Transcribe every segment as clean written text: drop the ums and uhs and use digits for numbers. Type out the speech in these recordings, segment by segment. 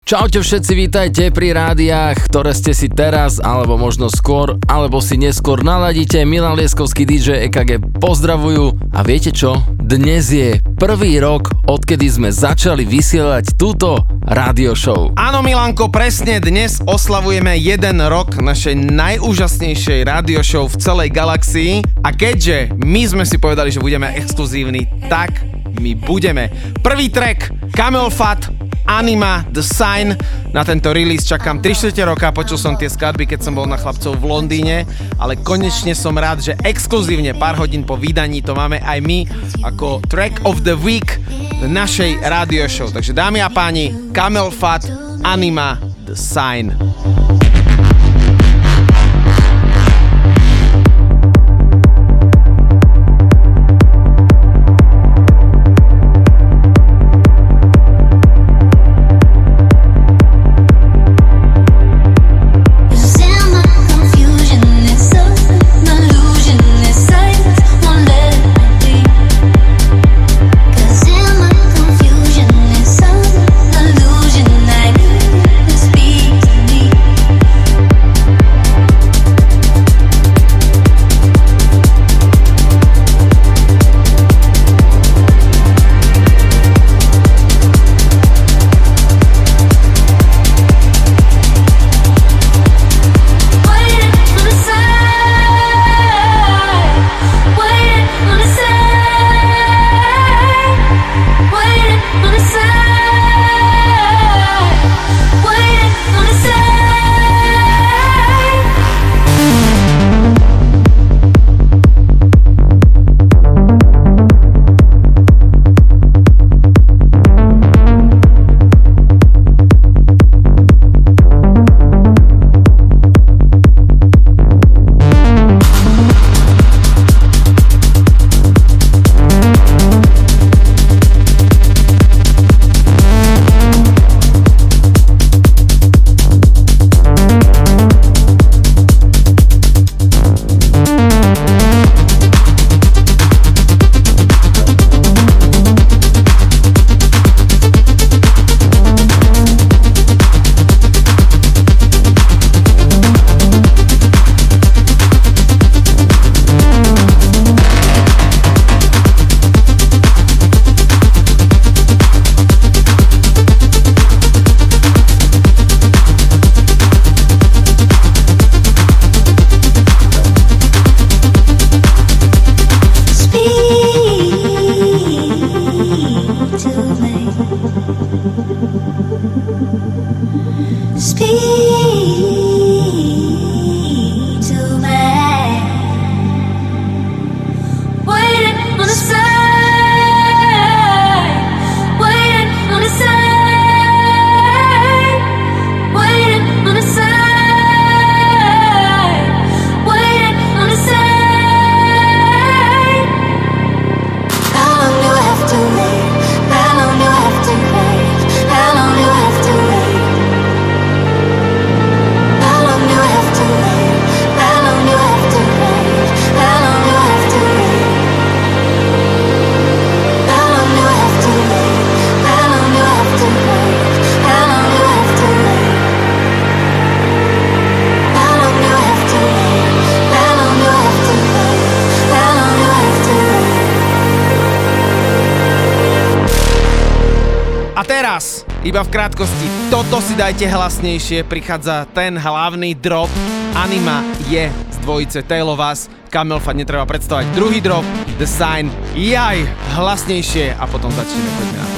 Čaute všetci, vítajte pri rádiách, ktoré ste si teraz, alebo možno skôr, alebo si neskôr naladíte. Milan Lieskovský, DJ EKG pozdravujú. A viete čo? Dnes je prvý rok, odkedy sme začali vysielať túto rádio show. Áno Milanko, presne dnes oslavujeme 1 rok našej najúžasnejšej rádio show v celej galaxii. A keďže my sme si povedali, že budeme exkluzívni, tak my budeme. Prvý track, Camel Fat, Anima, The Sign. Na tento release čakám 3/4 roka, počul som tie skladby, keď som bol na chlapcov v Londýne, ale konečne som rád, že exkluzívne pár hodín po vydaní to máme aj my ako Track of the Week v našej radio show. Takže dámy a páni, Camel Fat, Anima, The Sign. Iba v krátkosti, toto si dajte hlasnejšie, prichádza ten hlavný drop. Anima je z dvojice Tale of Us, Camel Fat netreba predstavať. Druhý drop, The Sign, jaj, hlasnejšie a potom začneme, poďme na to.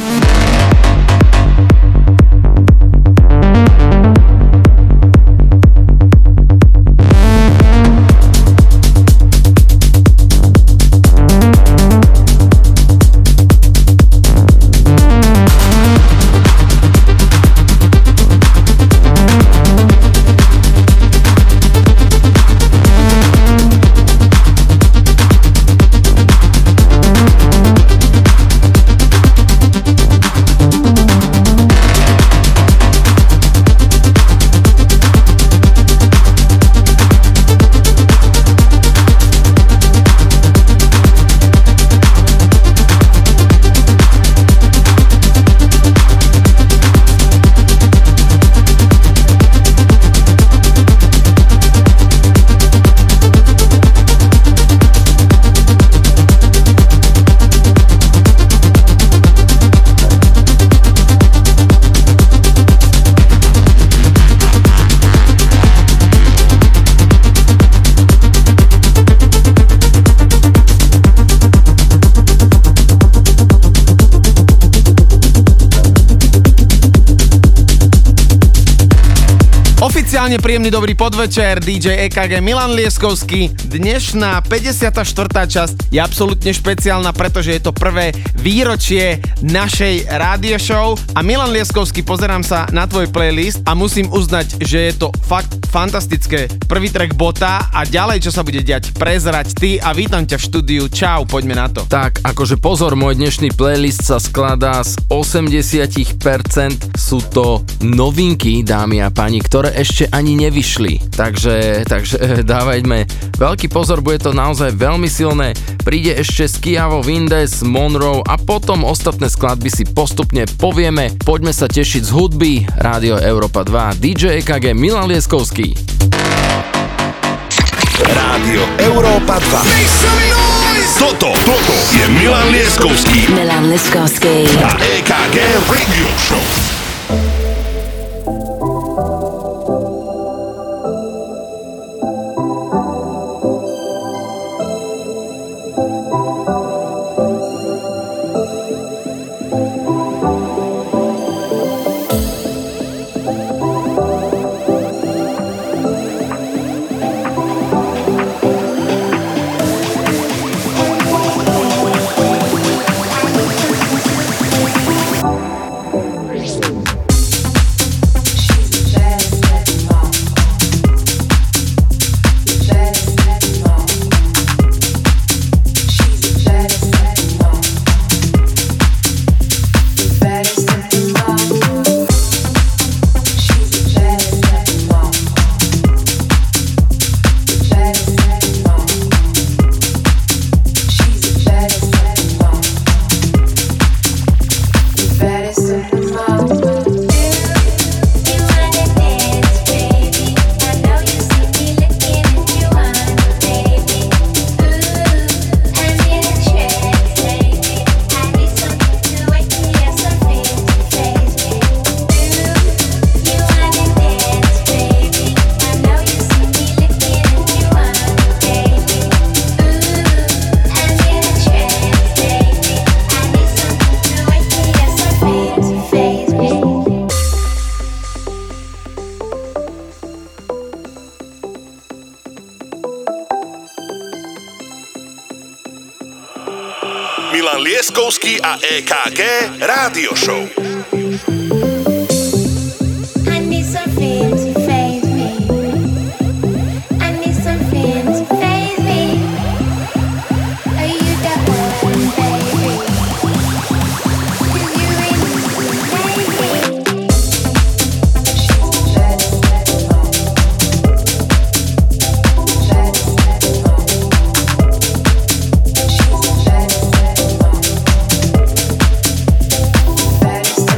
Špeciálne príjemný dobrý podvečer, DJ EKG Milan Lieskovský. Dnešná 54. časť je absolútne špeciálna, pretože je to prvé výročie našej rádio show a Milan Lieskovský, pozerám sa na tvoj playlist a musím uznať, že je to fakt fantastické. Prvý track Bota a ďalej, čo sa bude diať, prezrať ty a vítam ťa v štúdiu. Čau, poďme na to. Tak, akože pozor, môj dnešný playlist sa skladá z 80%, sú to novinky, dámy a páni, ktoré ešte ani nevyšli. Takže dávajme veľký pozor, bude to naozaj veľmi silné. Príde ešte Skiavo, Vindes, Monroe a potom ostatné skladby si postupne povieme. Poďme sa tešiť z hudby. Rádio Európa 2, DJ EKG Milan Lieskovský. Rádio Európa 2. Toto je Milan Lieskovský. Milan Lieskovský a EKG Radio Show. Milan Lieskovský a EKG Rádio Show. Better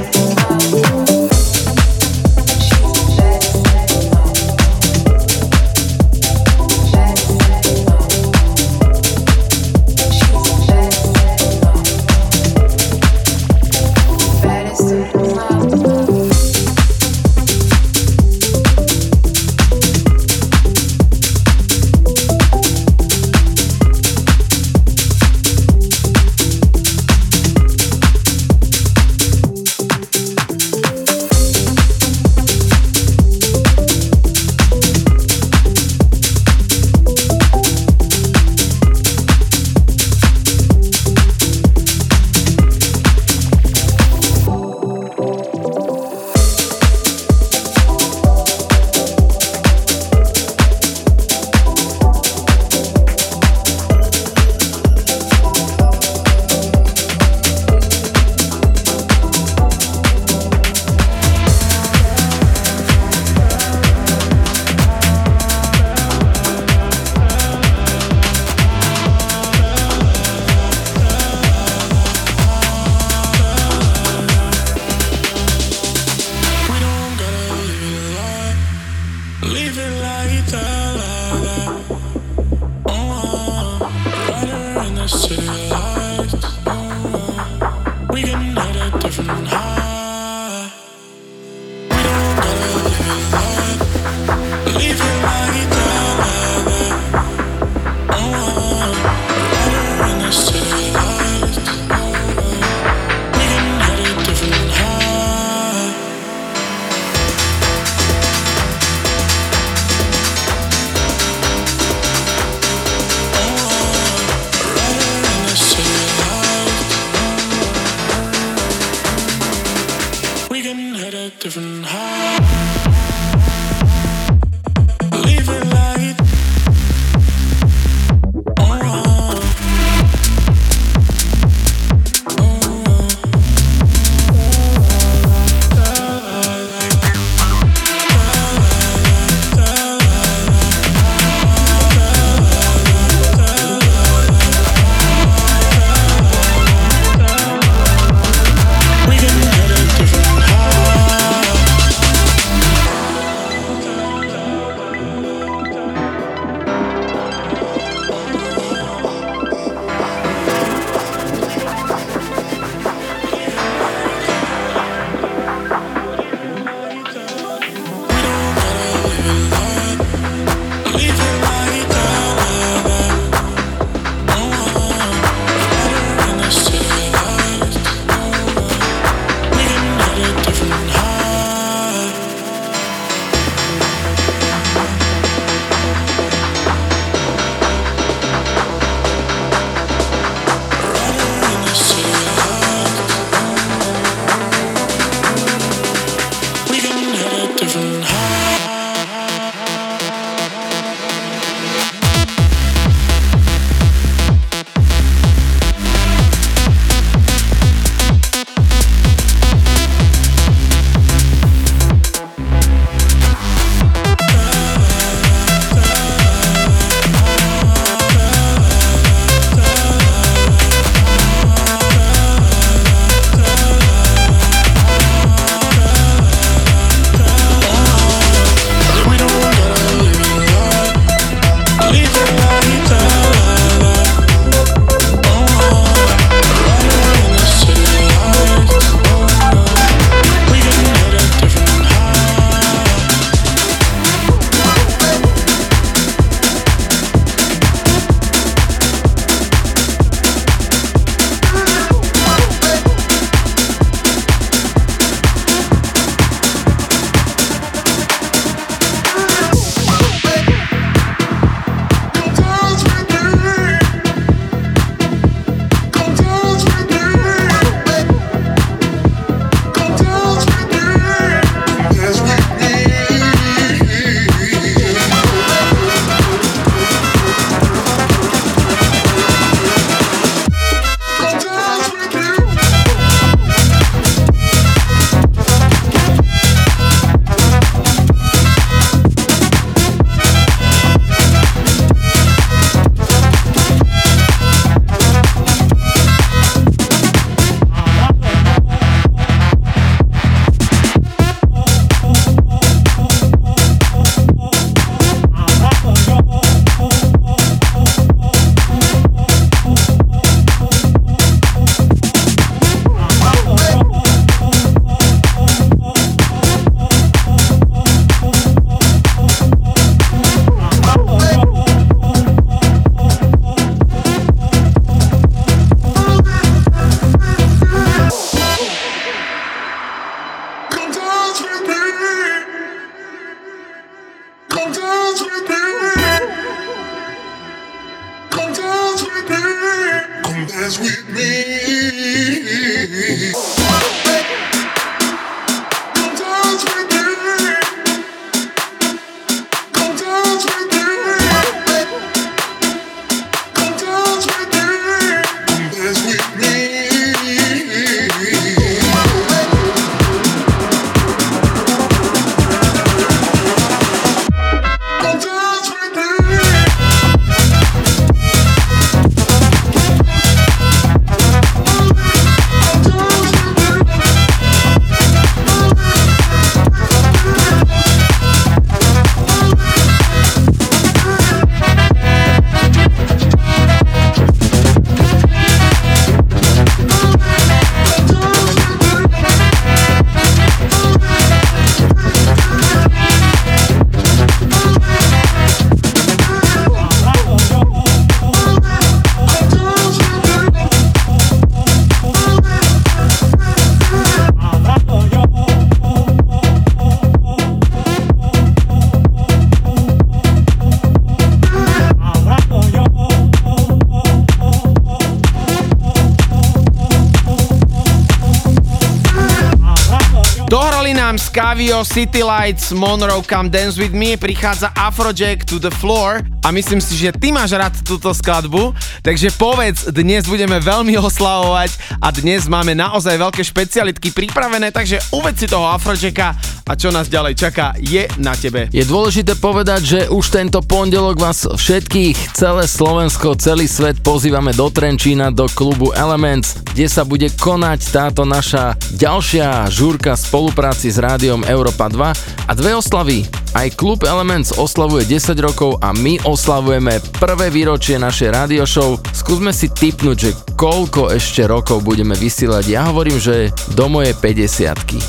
Scavio, City Lights, Monroe, Come Dance With Me, prichádza Afrojack, To The Floor a myslím si, že ty máš rád túto skladbu, takže povedz, dnes budeme veľmi oslavovať a dnes máme naozaj veľké špecialitky pripravené, takže uveď si toho Afrojacka a čo nás ďalej čaká je na tebe. Je dôležité povedať, že už tento pondelok vás všetkých, celé Slovensko, celý svet pozývame do Trenčína, do klubu Elements, kde sa bude konať táto naša ďalšia žúrka v spolupráci s rádiom Európa 2 a dve oslavy. Aj klub Elements oslavuje 10 rokov a my oslavujeme prvé výročie našej radio show. Skúsme si tipnúť, že koľko ešte rokov budeme vysielať. Ja hovorím, že do mojej 50-ky.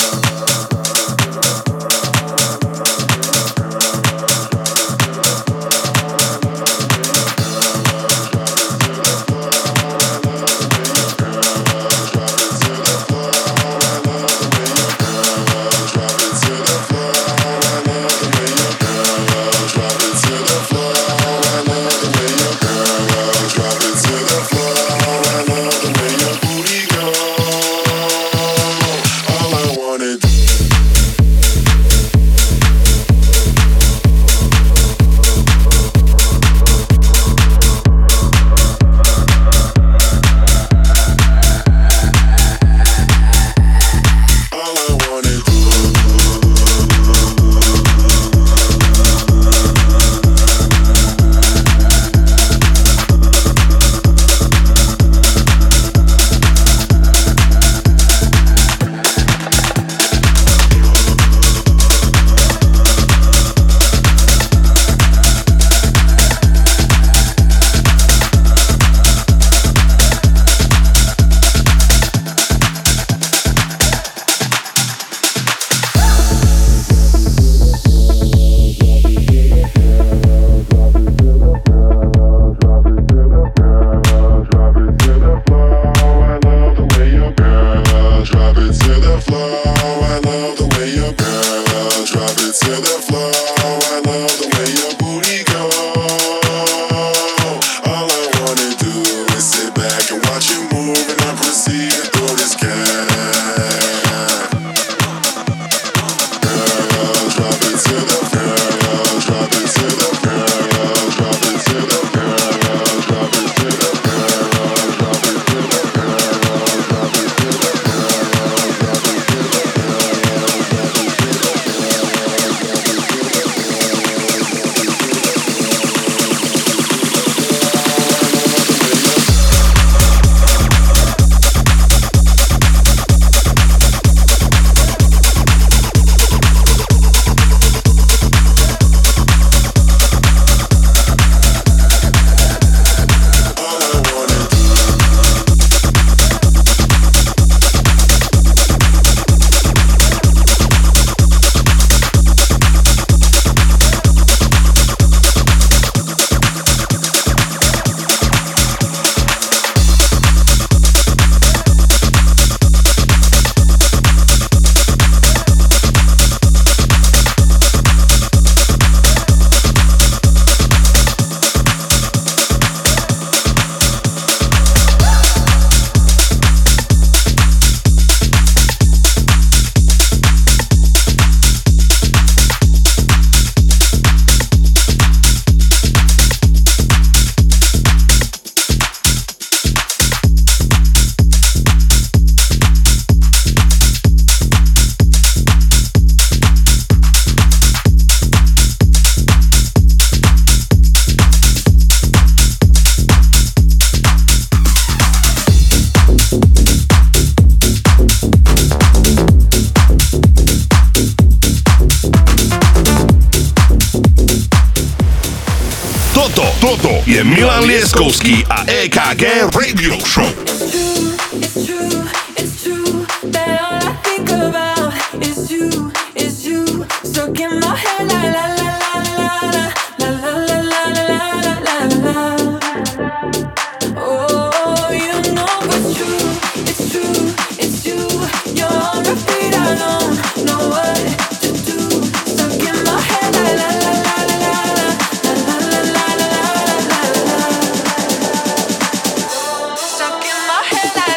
Toto je Milan Lieskovský a EKG Radio Show. Stuck in my head.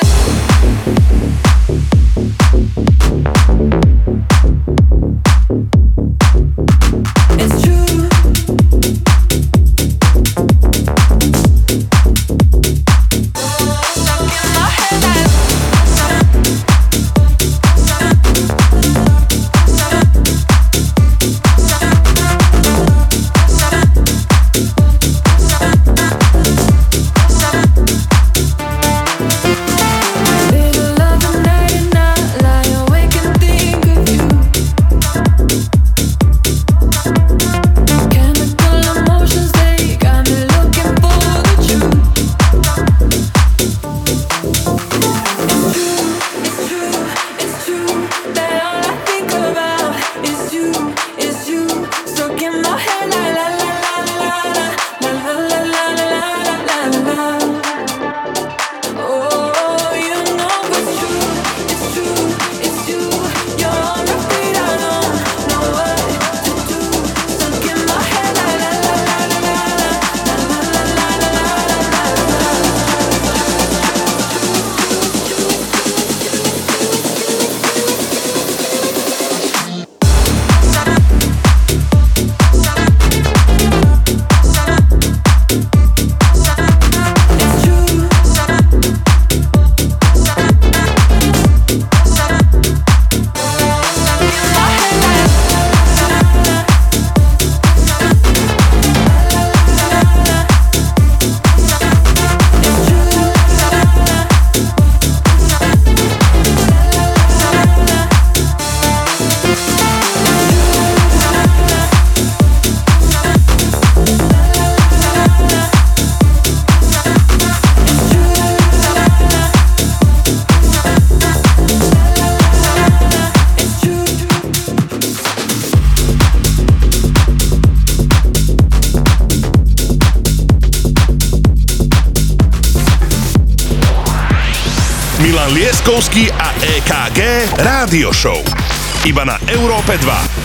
Lieskovský a EKG Rádio Show. Iba na Európe 2.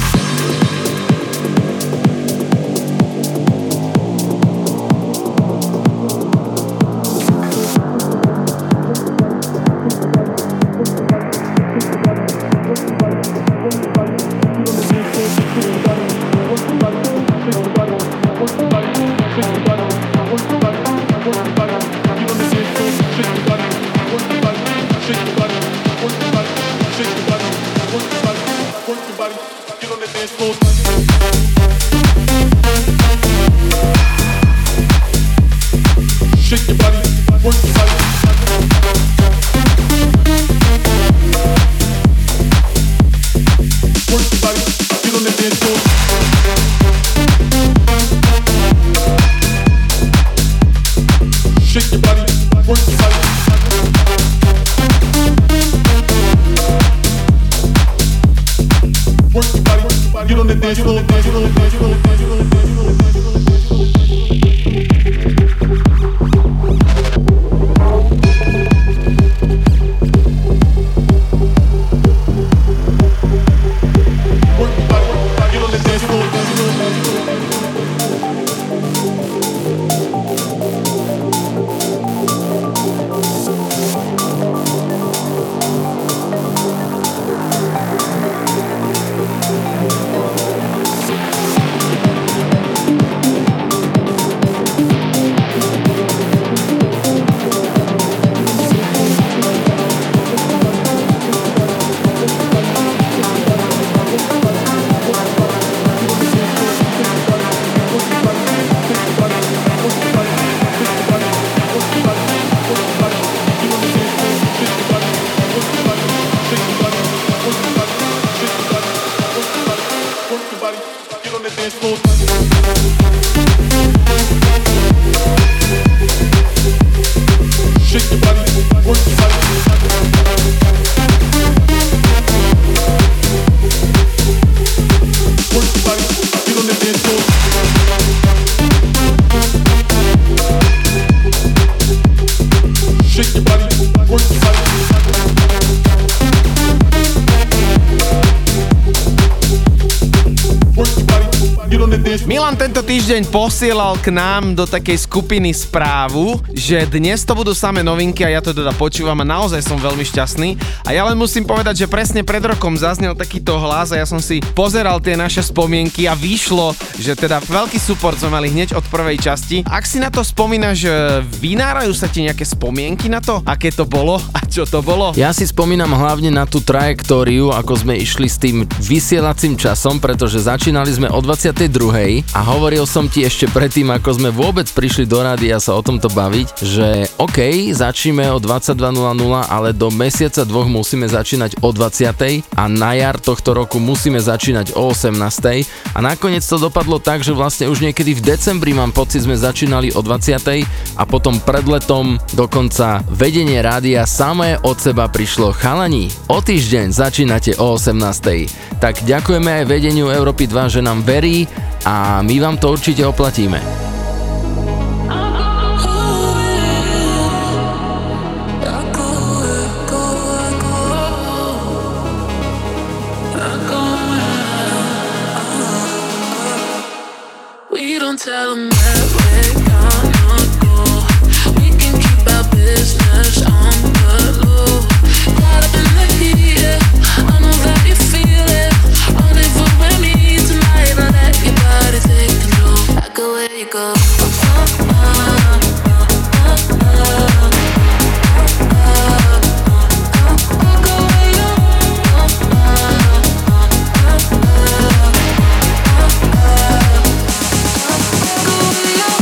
Milan tento týždeň posielal k nám do takej skupiny správu, že dnes to budú samé novinky a ja to teda počúvam a naozaj som veľmi šťastný. A ja len musím povedať, že presne pred rokom zaznel takýto hlas a ja som si pozeral tie naše spomienky a vyšlo, že teda veľký support sme mali hneď od prvej časti. Ak si na to spomínaš, vynárajú sa ti nejaké spomienky na to, aké to bolo a čo to bolo? Ja si spomínam hlavne na tú trajektóriu, ako sme išli s tým vysielacím časom, pretože začínali sme o 22. a hovoril som ti ešte predtým, ako sme vôbec prišli do rádia sa o tomto baviť, že OK, začneme o 22.00, ale do mesiaca dvoch musíme začínať o 20. a na jar tohto roku musíme začínať o 18. a nakoniec to dopadlo tak, že vlastne už niekedy v decembri mám pocit, sme začínali o 20. a potom pred letom dokonca vedenie rádia samé od seba prišlo: chalani, o týždeň začínate o 18. Tak ďakujeme aj vedeniu Európy 2, že nám verí a my vám to určite oplatíme. We don't tell them where we're gonna go. We can keep our business on the low. Caught up in the heat, yeah. I know that you feel it. Rendezvous with me tonight. I'll let your body take control. I go where you go. Go where you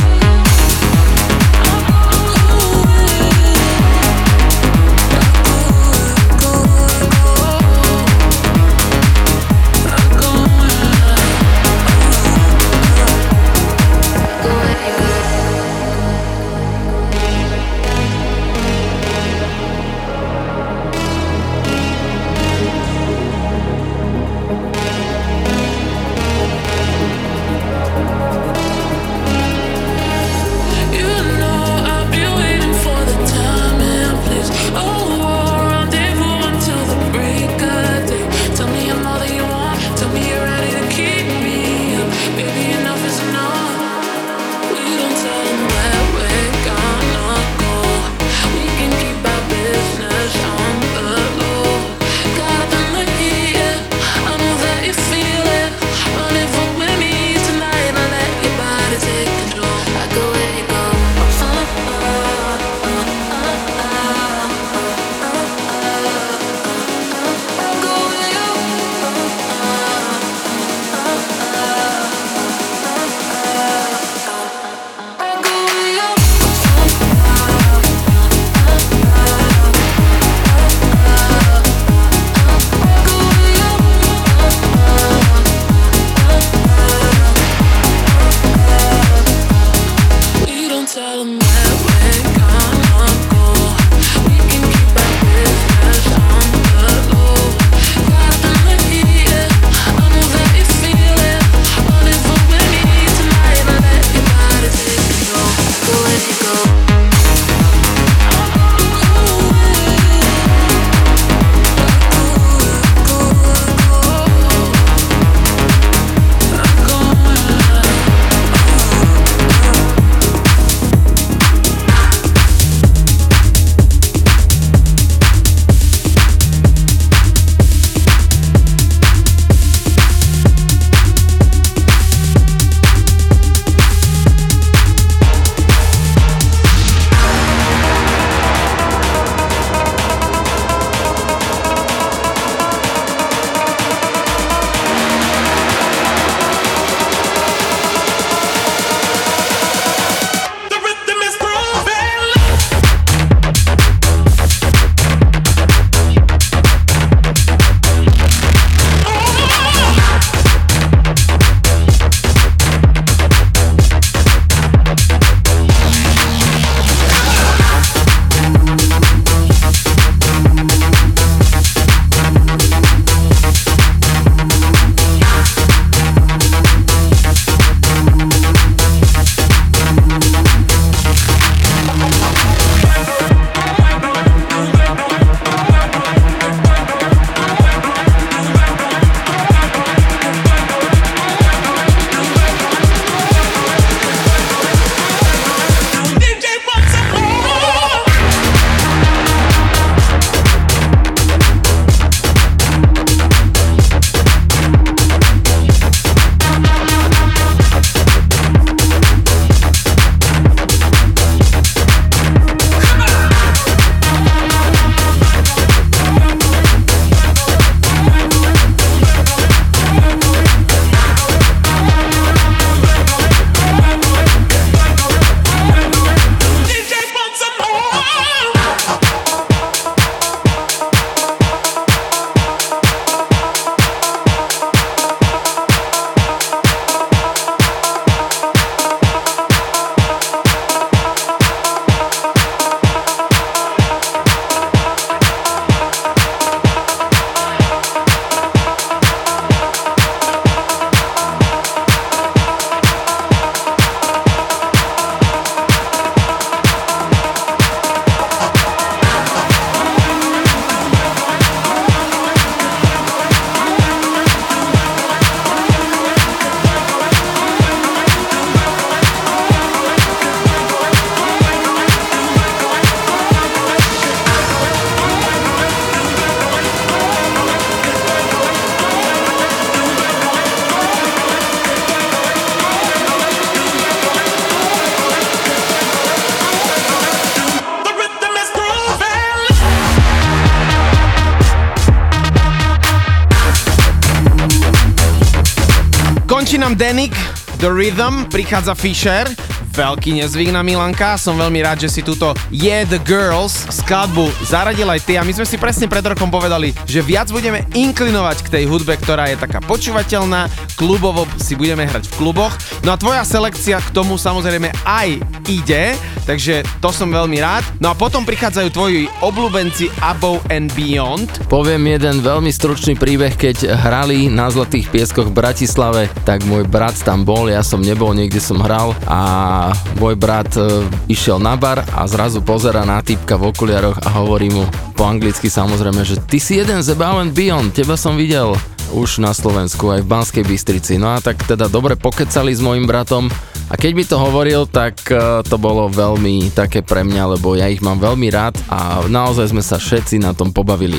Končí nám Danik, The Rhythm, prichádza Fisher, veľký nezvyk na Milanka, som veľmi rád, že si túto Yeah The Girls skladbu zaradil aj ty a my sme si presne pred rokom povedali, že viac budeme inklinovať k tej hudbe, ktorá je taká počúvateľná, klubovo si budeme hrať v kluboch, no a tvoja selekcia k tomu samozrejme aj ide, takže to som veľmi rád. No a potom prichádzajú tvoji obľúbenci Above and Beyond. Poviem jeden veľmi stručný príbeh, keď hrali na Zlatých pieskoch v Bratislave, tak môj brat tam bol, ja som nebol, niekde som hral a môj brat išiel na bar a zrazu pozerá na týpka v okuliaroch a hovorí mu po anglicky samozrejme, že ty si jeden z Above and Beyond, teba som videl už na Slovensku, aj v Banskej Bystrici. No a tak teda dobre pokecali s mojim bratom a keď mi to hovoril, tak to bolo veľmi také pre mňa, lebo ja ich mám veľmi rád a naozaj sme sa všetci na tom pobavili.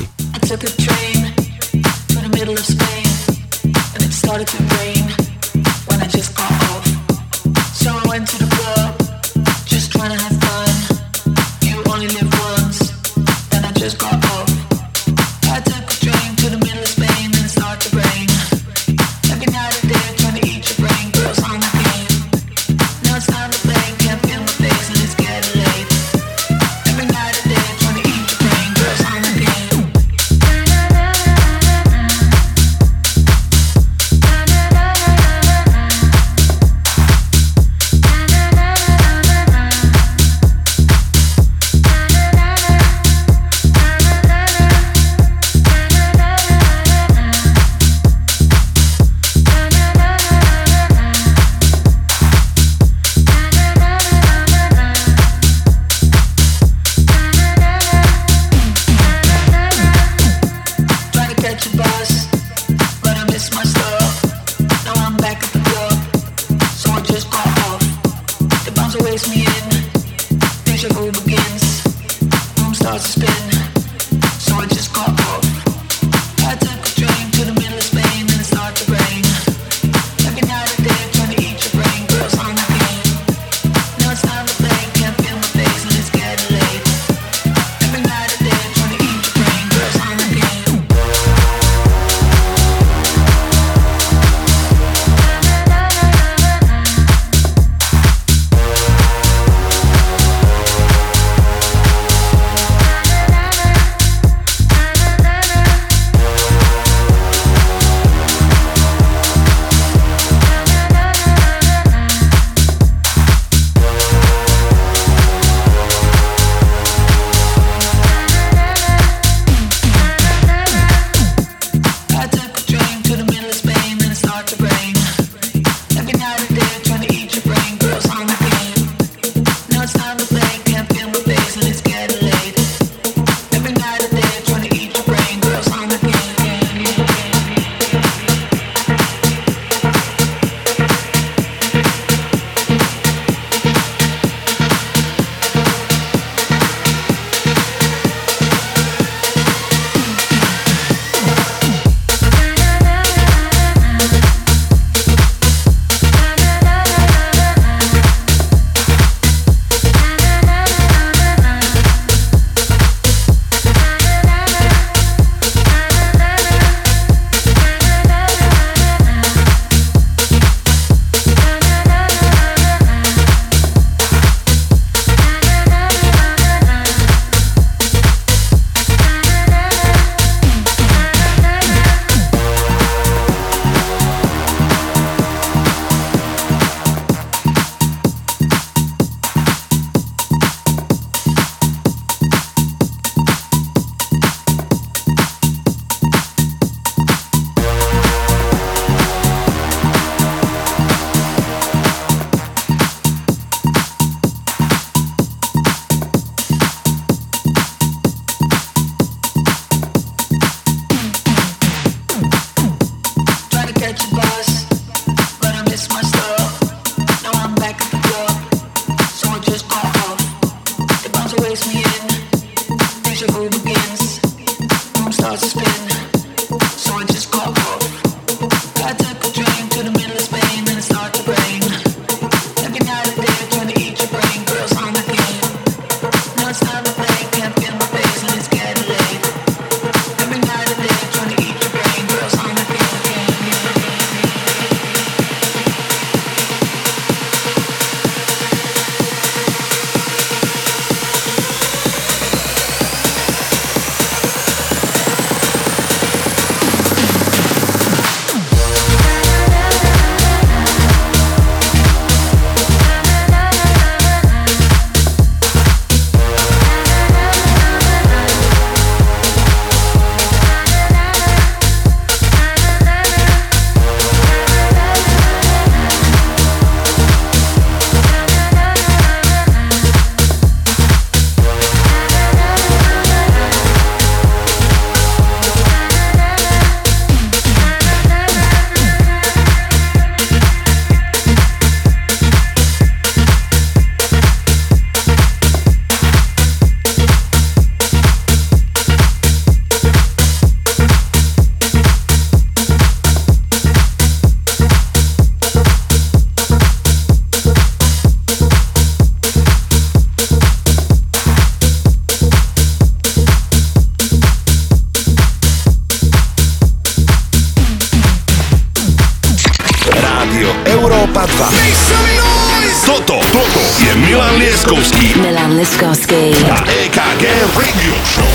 Rádio Európa 2. Toto je Milan Lieskovský Milan Lieskovský a EKG Radio Show.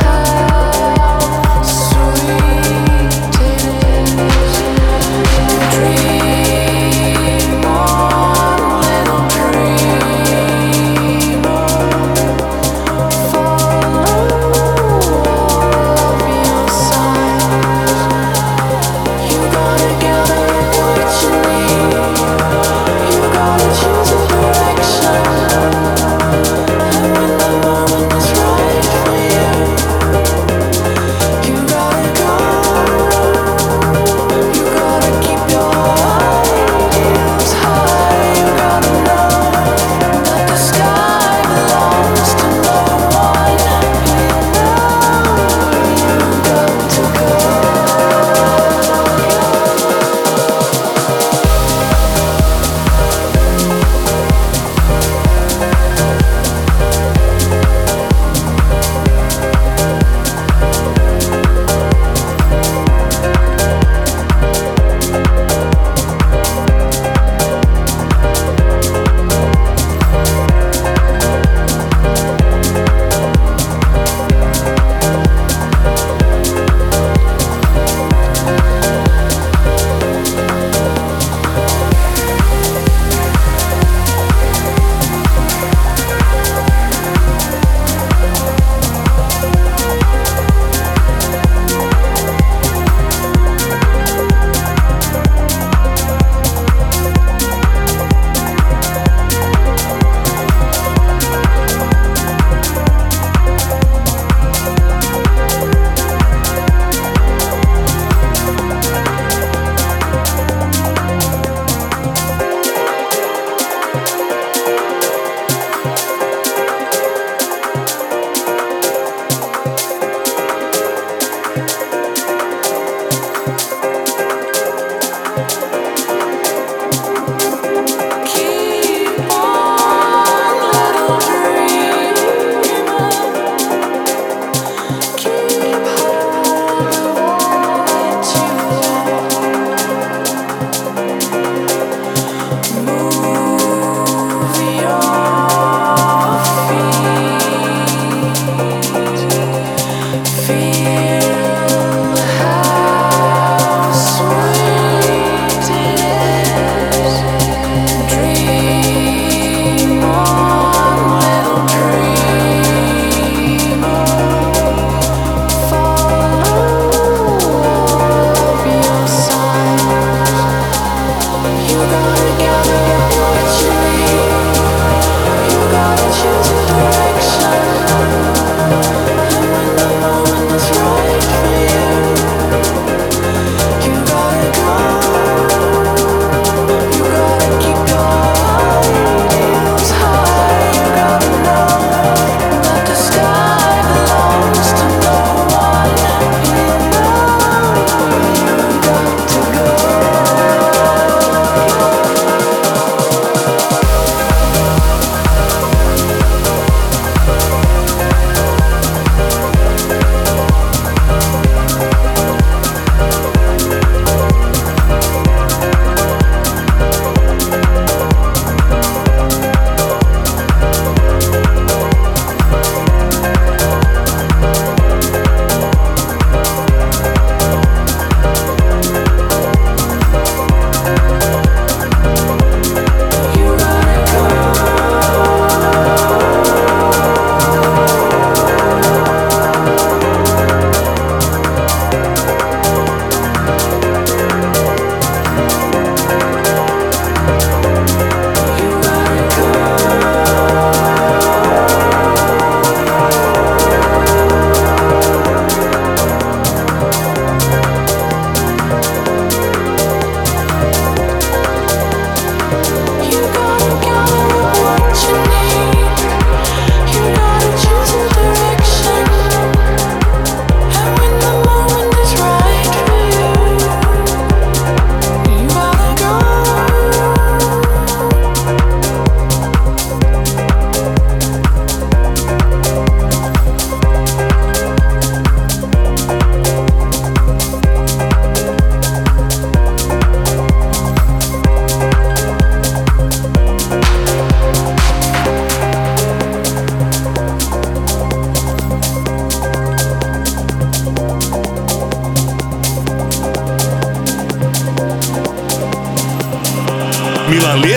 Dream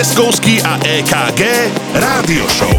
Lieskovský a EKG Rádio Show.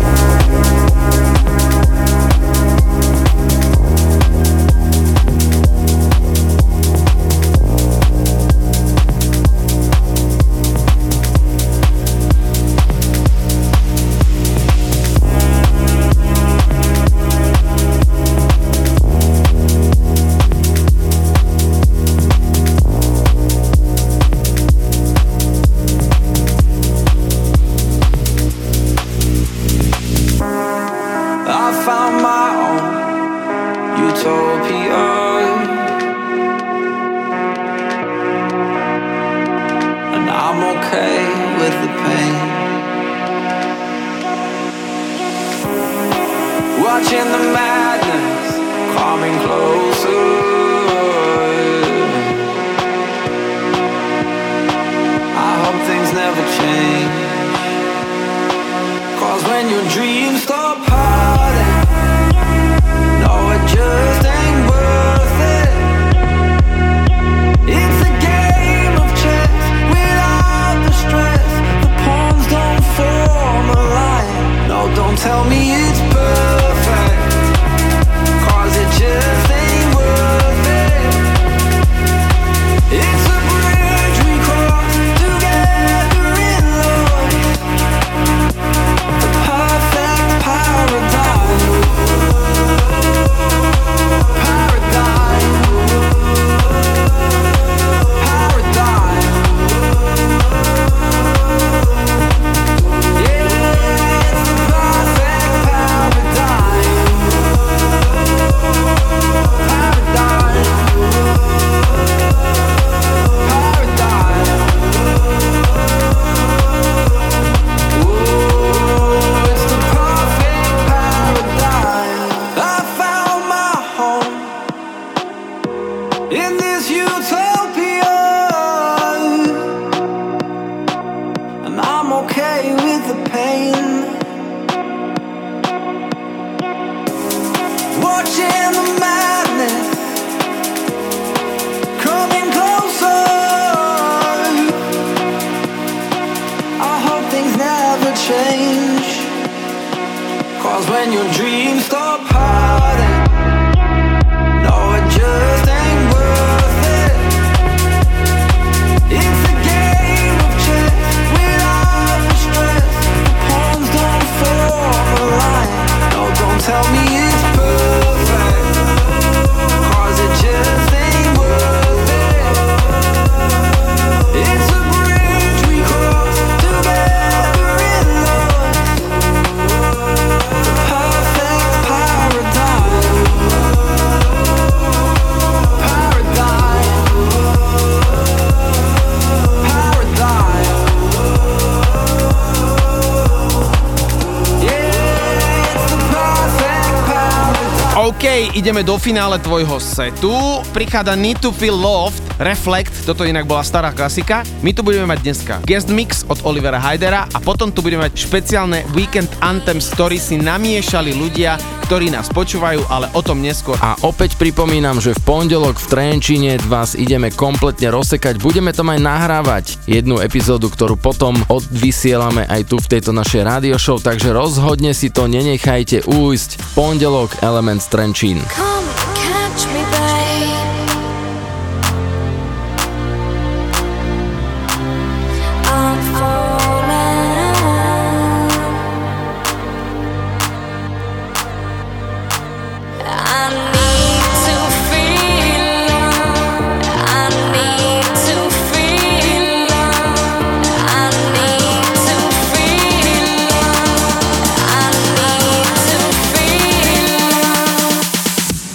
Ideme do finále tvojho setu. Prichádza Need to Feel Loved, Reflect, toto inak bola stará klasika. My tu budeme mať dneska guest mix od Olivera Hydera a potom tu budeme mať špeciálne Weekend Anthems, ktorý si namiešali ľudia, ktorí nás počúvajú, ale o tom neskôr. A opäť pripomínam, že v pondelok v Trenčíne vás ideme kompletne rozsekať. Budeme tam aj nahrávať jednu epizódu, ktorú potom odvysielame aj tu v tejto našej radio show, takže rozhodne si to nenechajte ujsť. Pondelok Elements Trenčín. Come catch me, babe. I'm falling. I need to feel love. I need to feel love. I need to feel love. I need to feel love.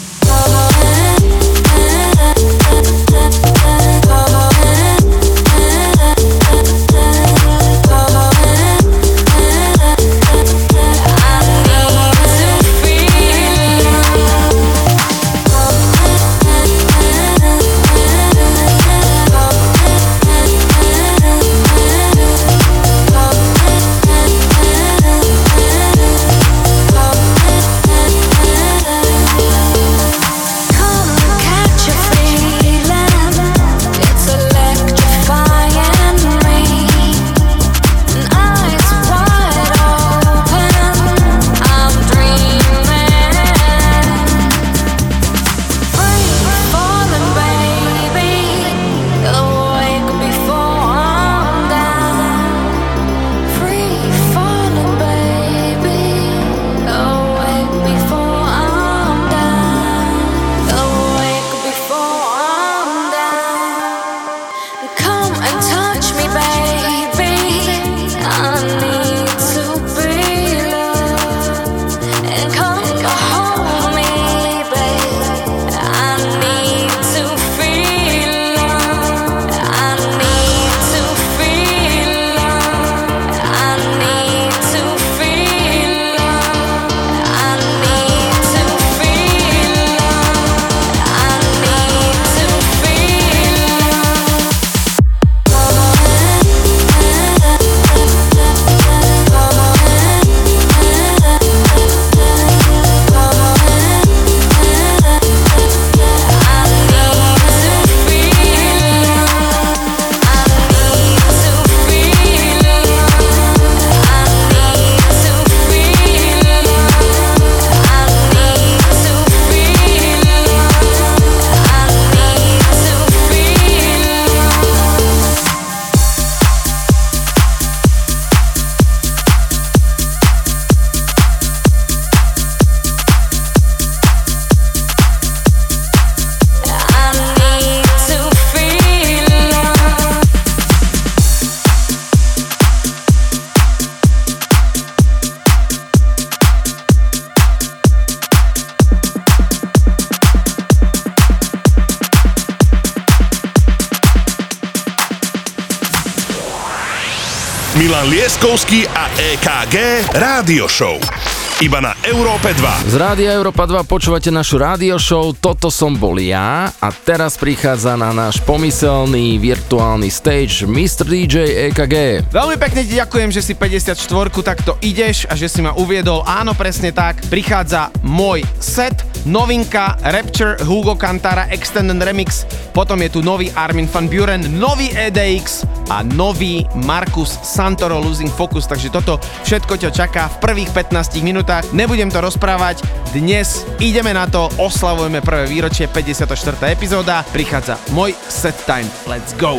Milan Lieskovský a EKG Rádio Show. Iba na Európe 2. Z Rádia Európa 2 počúvate našu rádio show Toto som bol ja a teraz prichádza na náš pomyselný virtuálny stage Mr. DJ EKG. Veľmi pekne ti ďakujem, že si 54 takto ideš a že si ma uviedol. Áno, presne tak. Prichádza môj set, novinka Rapture, Hugo Cantara Extended Remix, potom je tu nový Armin van Buuren, nový EDX a nový Marcus Santoro Losing Focus, takže toto všetko ťa čaká v prvých 15 minútach. Nebudem to rozprávať, dnes ideme na to, oslavujeme prvé výročie, 54. epizóda, prichádza môj set time, let's go!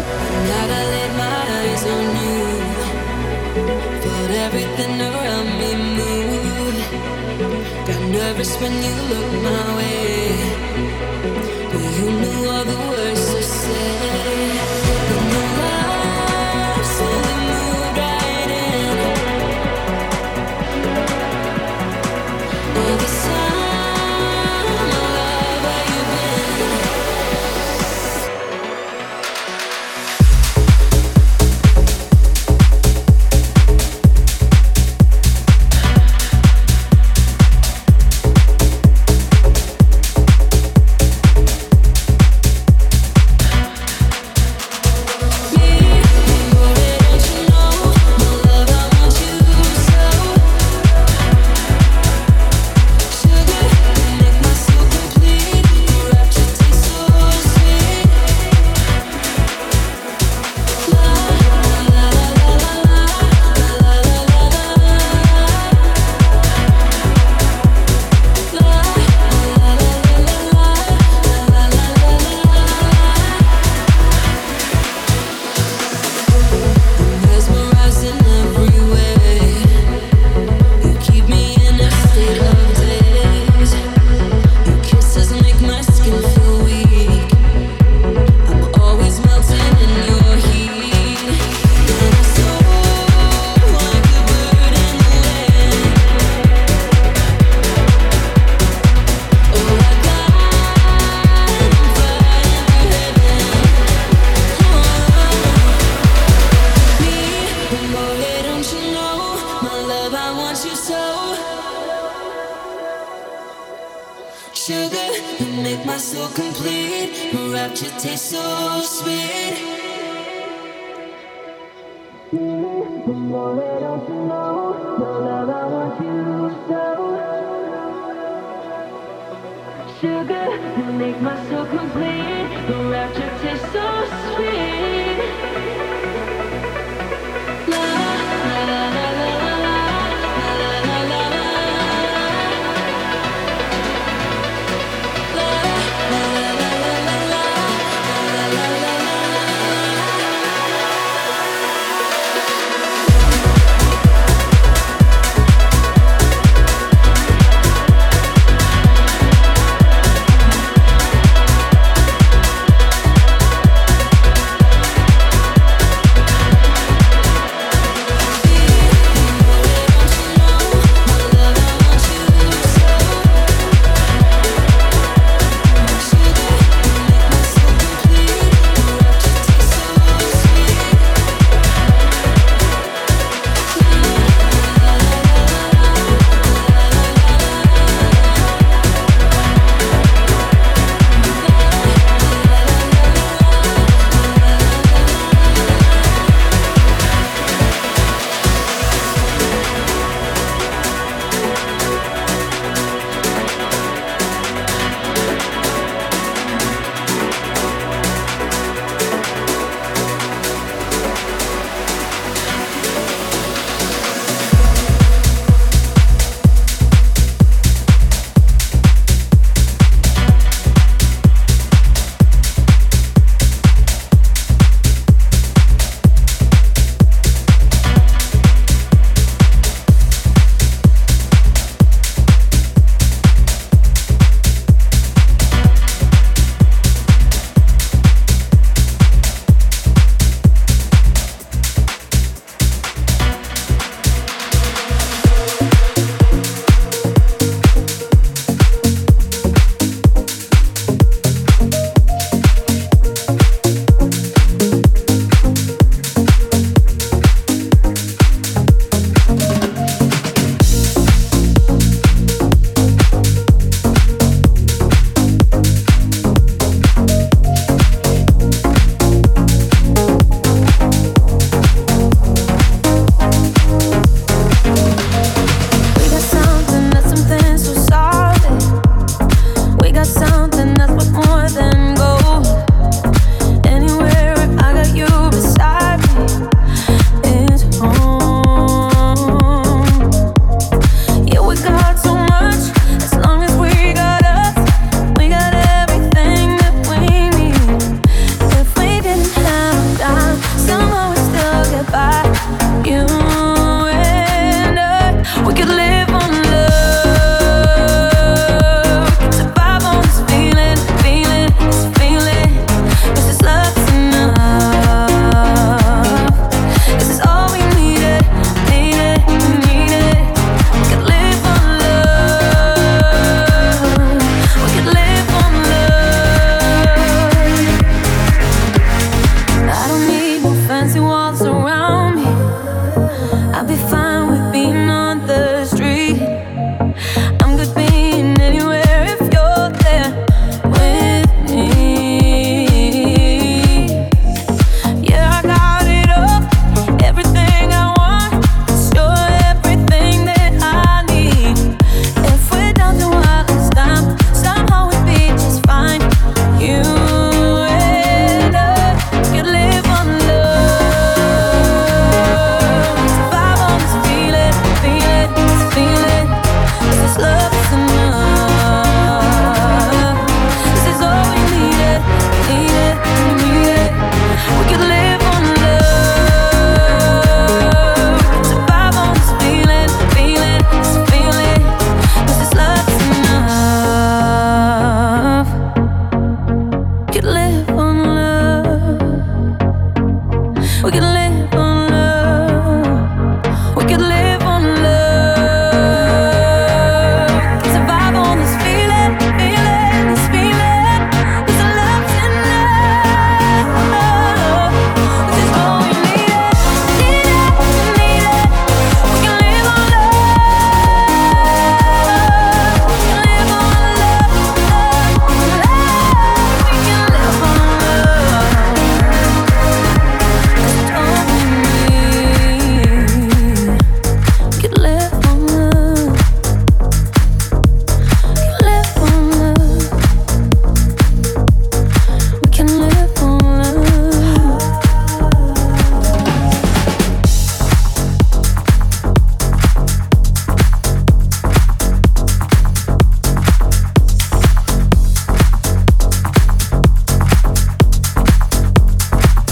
Nervous when you look my way, but you knew all the words to say. When the light slowly moved right in, all this time, my love, where you been?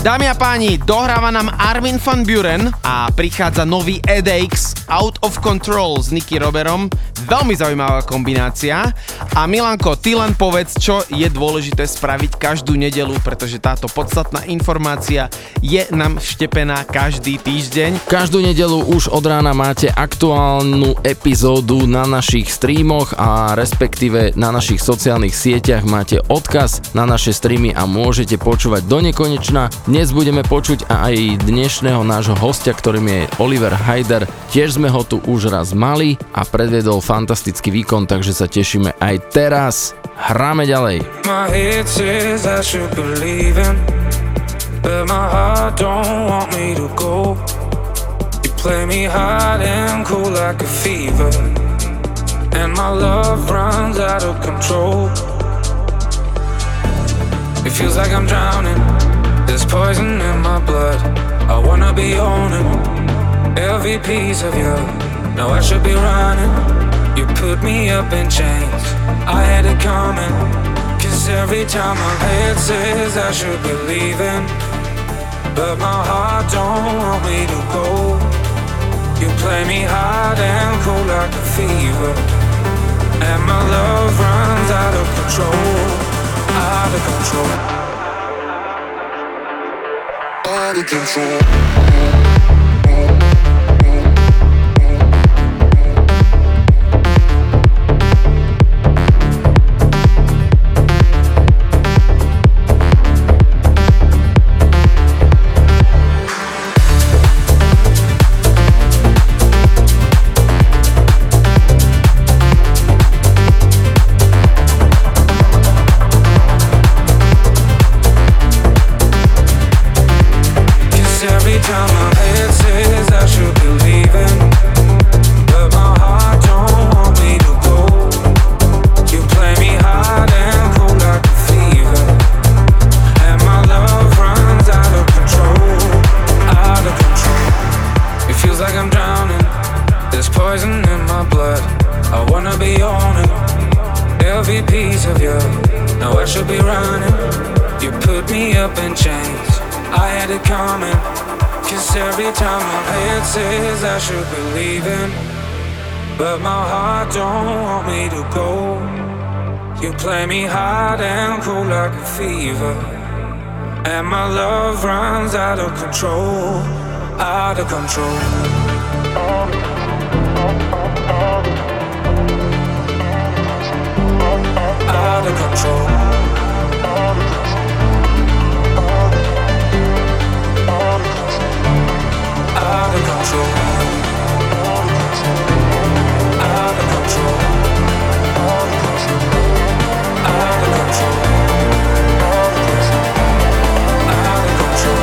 Dámy a páni, dohráva nám Armin van Buuren a prichádza nový EDX Out of Control s Nicky Roberom. Veľmi zaujímavá kombinácia. A Milanko, ty len povedz, čo je dôležité spraviť každú nedeľu, pretože táto podstatná informácia je nám vštepená každý týždeň. Každú nedeľu už od rána máte aktuálnu epizódu na našich streamoch a respektíve na našich sociálnych sieťach máte odkaz na naše streamy a môžete počúvať do nekonečna. Dnes budeme počuť aj dnešného nášho hostia, ktorým je Oliver Haider. Tiež sme ho tu už raz mali a predviedol fantastický výkon, takže sa tešíme aj teraz. Hráme ďalej. My head says I should believe in, but my heart don't want me to go. You play me hot and cool like a fever, and my love runs out of control. It feels like I'm drowning. There's poison in my blood. I wanna be owning every piece of you. Now I should be running. You put me up in chains. I had it coming. Cause every time my head says I should be leaving, but my heart don't want me to go. You play me hot and cool like a fever, and my love runs out of control. Out of control. Out of control. I should be leaving, but my heart don't want me to go. You play me hot and cool like a fever, and my love runs out of control. Out of control. Out of control. Out of control. Out of control. Out of control. Out of control.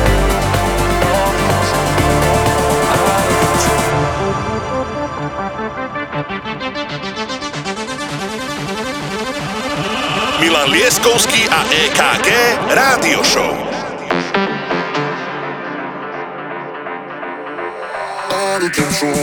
Milan Lieskovský a EKG Rádio Show. Out of control.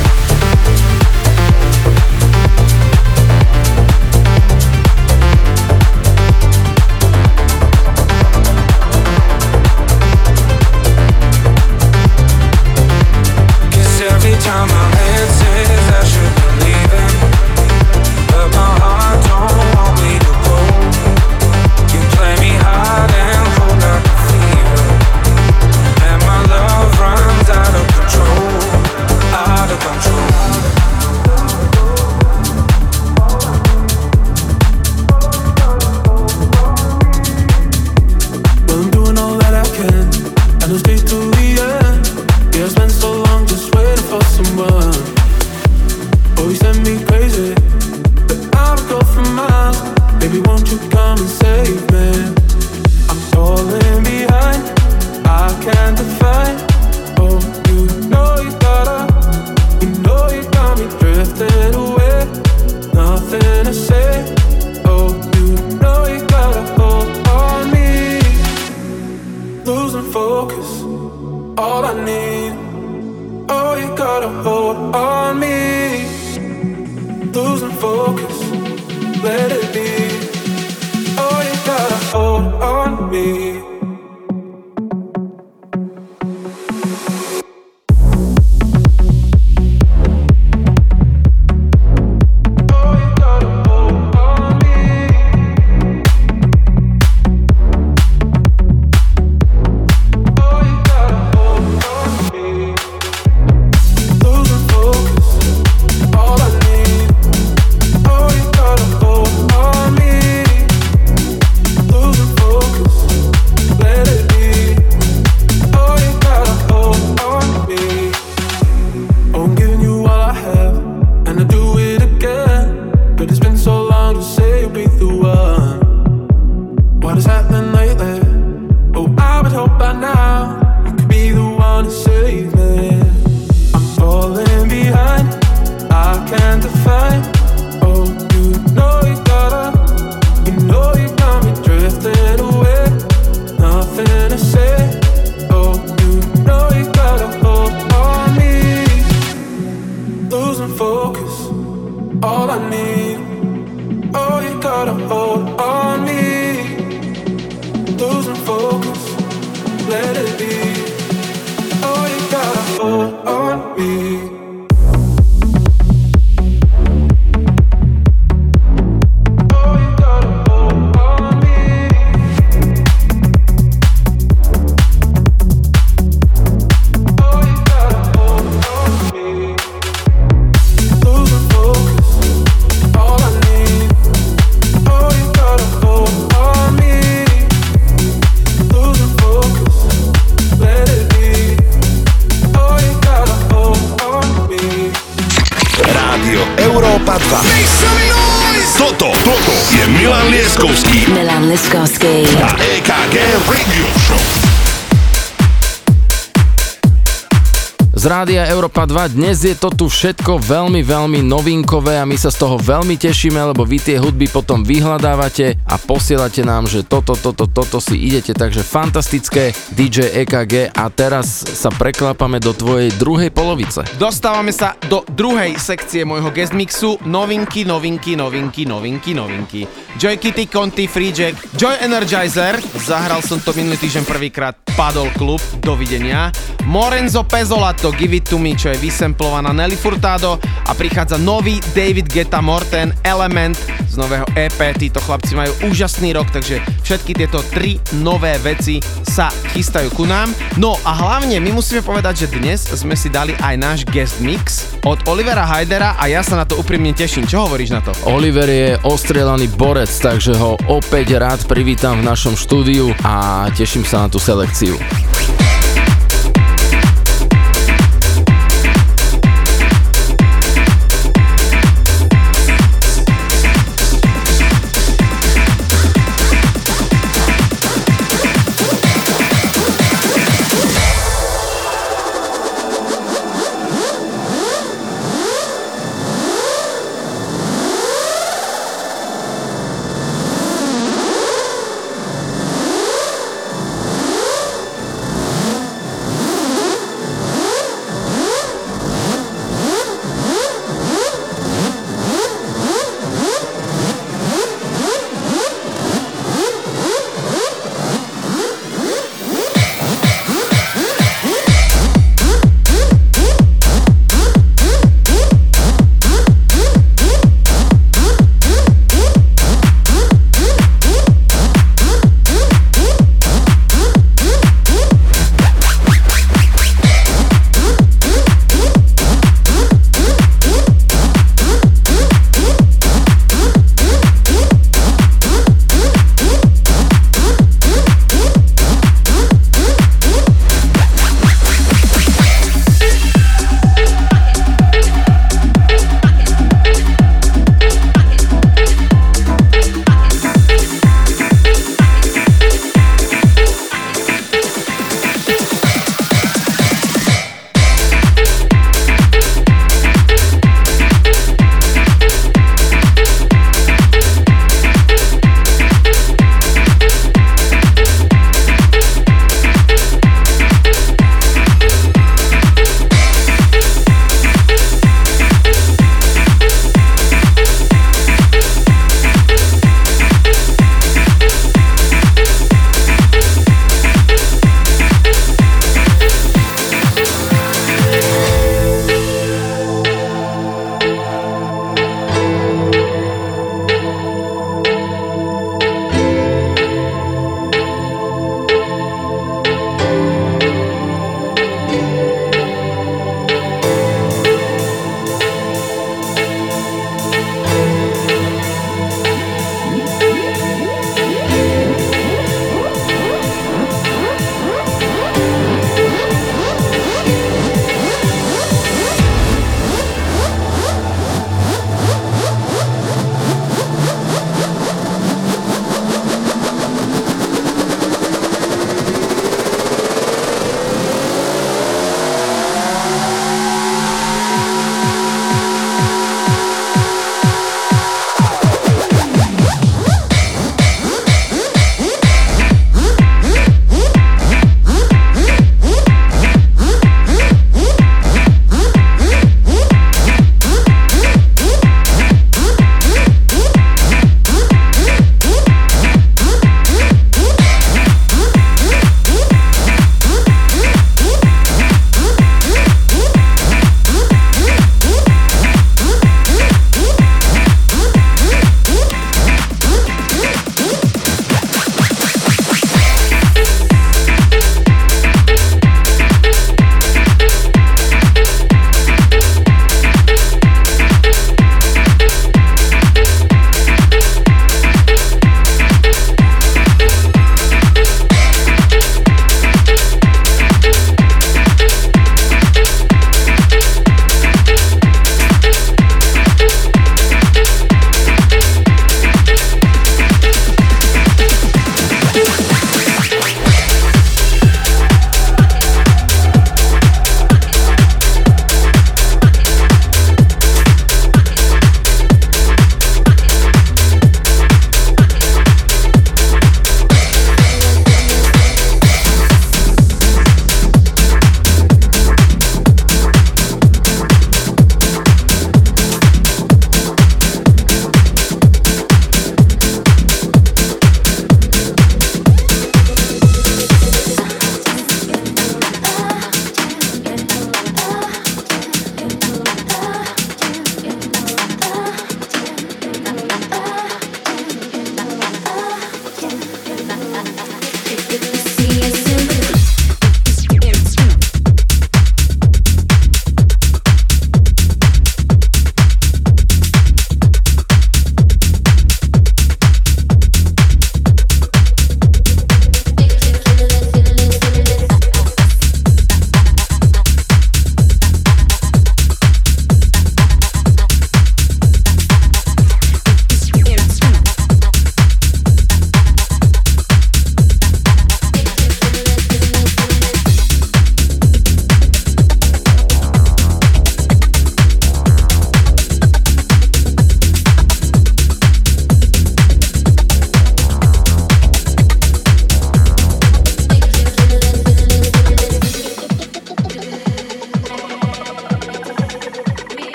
Time my head says I should be leaving, but my heart don't want me to go. You play me hot and cold like a fever, and my love runs out of control. Out of control. Well, I'm doing all that I can, and I'll stay through the end. Yeah, I spent so long just waiting for someone. Oh, you send me crazy, but I would go for miles. Baby, won't you come and save me? I'm falling behind, I can't define. Oh, you know you got me drifting away. Nothing to say. Oh, you know you got a hold on me. Losing focus, all I need. Oh, you got a hold on me. Losing focus, let it be. Oh, you got a hold on me. what has happened lately? Oh, I would hope by now you could be the one to save me. I'm falling behind, I can't define. Oh, you know you got me drifting away. Nothing to say. Oh, you know you got a hold on me. Losing focus, all I need. Oh, you got a hold on me. Losing focus, let it be. Oh, you got a hold on me. Toto je Milan Lieskovský. Milan Lieskovský. A EKG Radio Show. Z Rádia Európa 2 dnes je to tu všetko veľmi, veľmi novinkové a my sa z toho veľmi tešíme, lebo vy tie hudby potom vyhľadávate a posielate nám, že toto si idete, takže fantastické DJ EKG a teraz sa preklápame do tvojej druhej polovice. Dostávame sa do druhej sekcie môjho guest mixu. Novinky. Joy Kitty, Conti, Free Jack, Joy Energizer. Zahral som to minulý týždeň prvýkrát, padol klub, dovidenia. Morenzo Pezzolato, Give It To Me, čo je vysemplovaná Nelly Furtado a prichádza nový David Guetta Morten, Element z nového EP. Títo chlapci majú úžasný rok, takže všetky tieto tri nové veci sa chystajú ku nám. No a hlavne my musíme povedať, že dnes sme si dali aj náš guest mix od Olivera Hydera a ja sa na to úprimne teším. Čo hovoríš na to? Oliver je ostrieľaný borec, takže ho opäť rád privítam v našom štúdiu a teším sa na tú selekciu.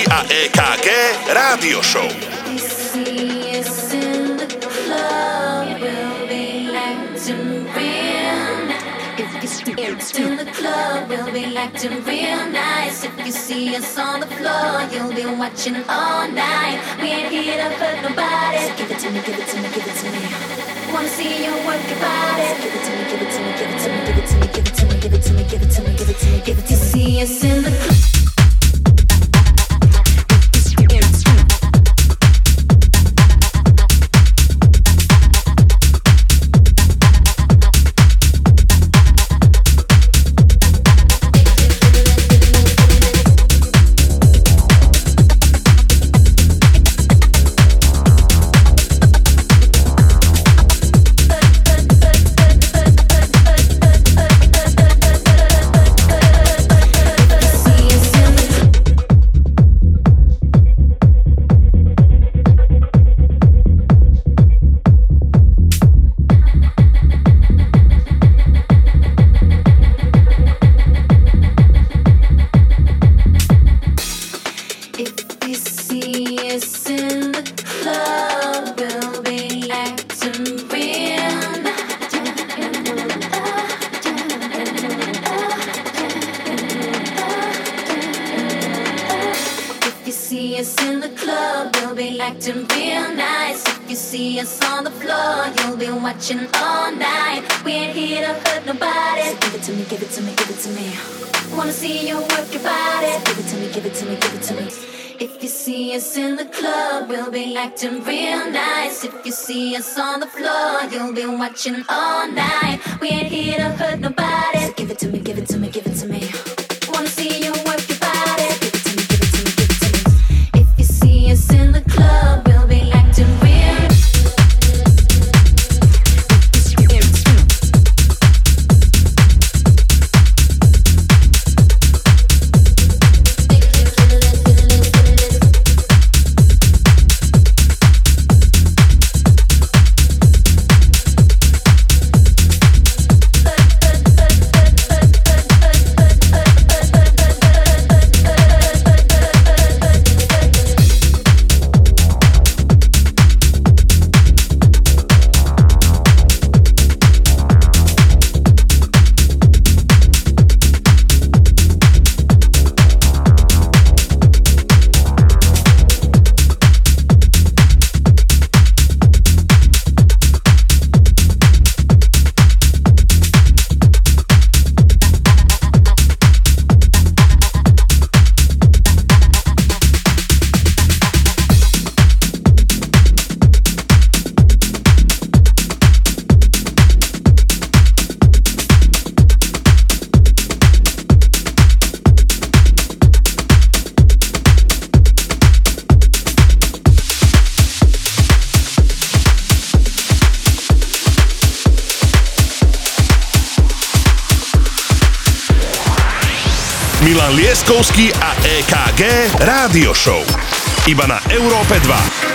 a EKG Rádio Show. In the club, we'll be acting real nice. If you see us on the floor, you'll be watching all night. We ain't here to hurt nobody. So give it to me, give it to me, give it to me. Wanna see you work your body. So give it to me, give it to me, give it to me, give it to me, give it to me, give it to me, give it to me, give it to me, give it to me. You see us in the club. Acting real nice. If you see us on the floor, you'll be watching all night. We ain't here to hurt nobody. So give it to me, give it to me, give it to me. Wanna see you work your body. Give it to me, give it to me, give it to me. If you see us in the club, we'll be acting real. Milan Lieskovský a EKG Rádio Show. Iba na Európe 2.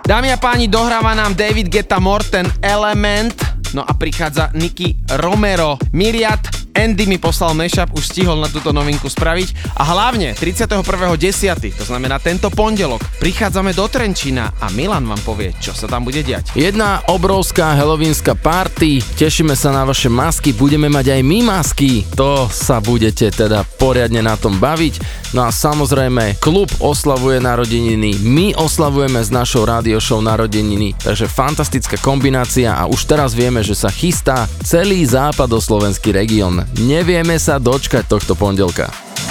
Dámy a páni, dohráva nám David Guetta Morten Element, no a prichádza Nicky Romero Myriad. Andy mi poslal mashup, už stihol na túto novinku spraviť a hlavne 31.10., to znamená tento pondelok, prichádzame do Trenčína a Milan vám povie, čo sa tam bude diať. Jedna obrovská halloweenská party, tešíme sa na vaše masky, budeme mať aj my masky, to sa budete teda poriadne na tom baviť. No a samozrejme, klub oslavuje narodeniny, my oslavujeme s našou radio show narodeniny, takže fantastická kombinácia a už teraz vieme, že sa chystá celý západoslovenský región. Nevieme sa dočkať tohto pondelka.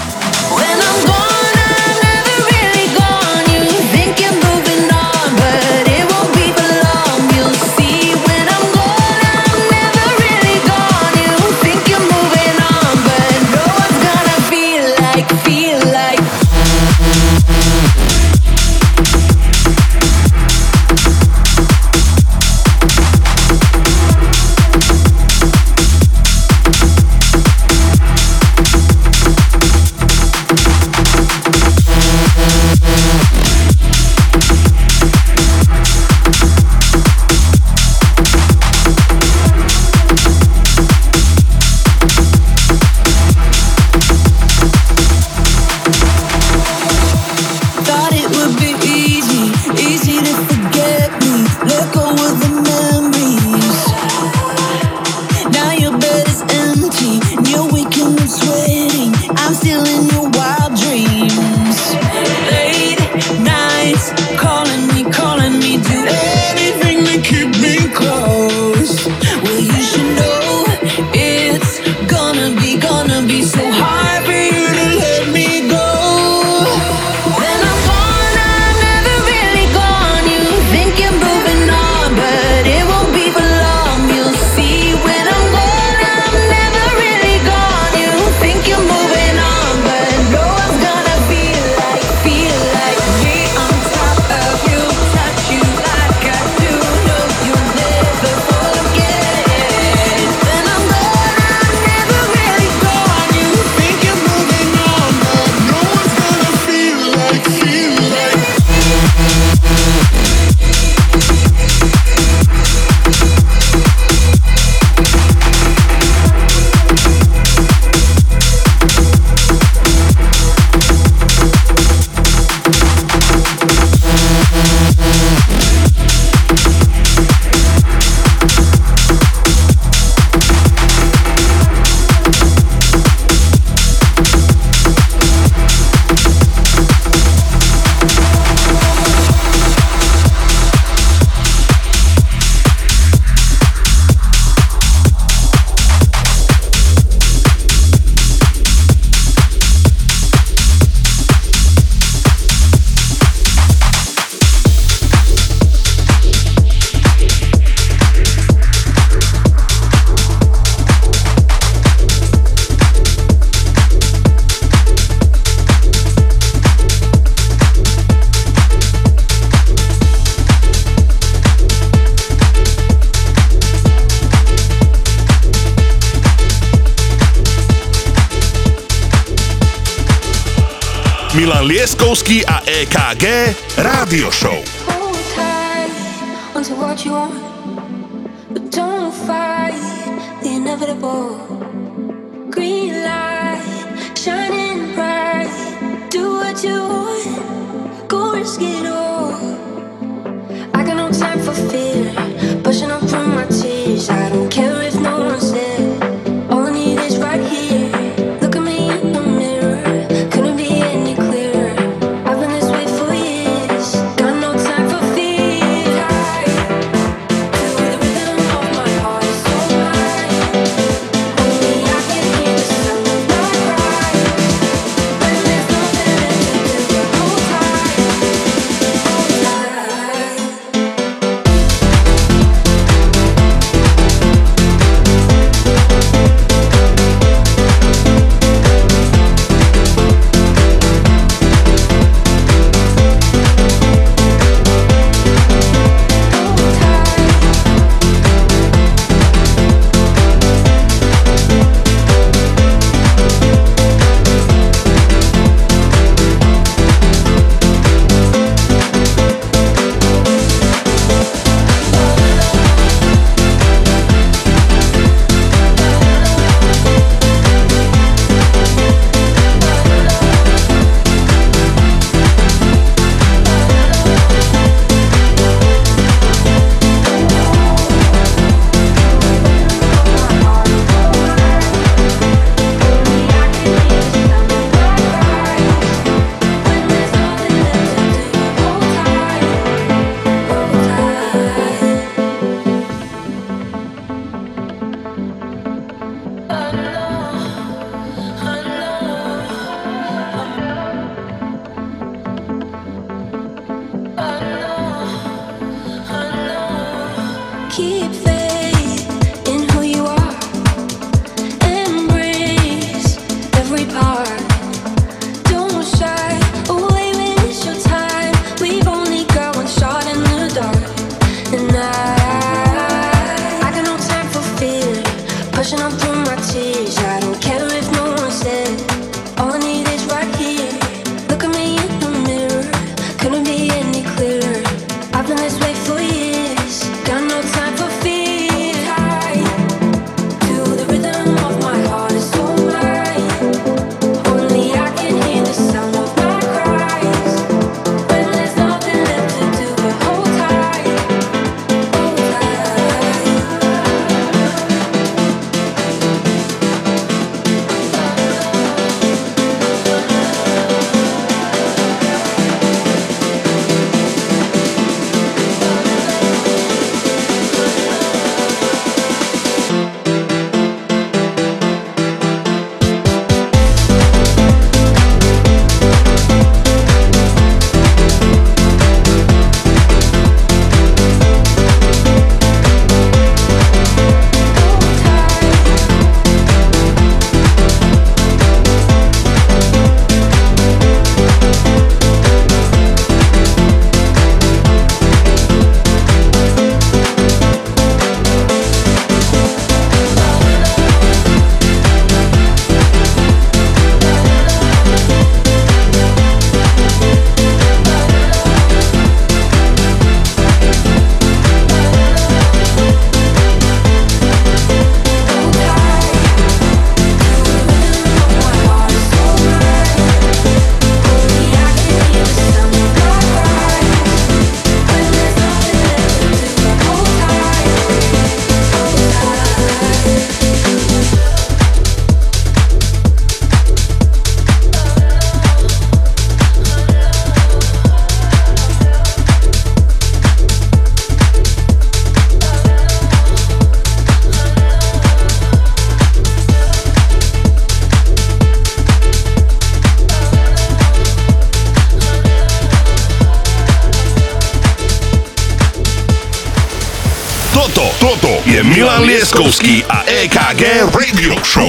Milan Lieskovský a EKG Rádio Show. Hold tight onto what you want, but don't fight the inevitable. Green light shining bright, do what you want, go risk it all. I got no time for fear, pushing up from my tears. I don't care if no one's there, all I need is right here. Look at me in the mirror, couldn't be any clearer. I've been this way for years, got no time for fear. To the rhythm of my heart is so right. Only I can hear the sound of my cry. When there's nothing left to do, hold tight, hold tight. Keep faith in who you are. Embrace every part. Don't shy away when it's your time. We've only got one shot in the dark. And I got no time for fear. Pushing on through my tears. I don't care if no one said. All I need is right here. Look at me in the mirror. Couldn't be any clearer. I've been this way for years. Got no time for fear. To the rhythm of my heart is so mine. Only I can hear the sound of my cries. When there's nothing left to do but hold tight, hold tight. Toto je Milan Lieskovský a EKG Radio Show.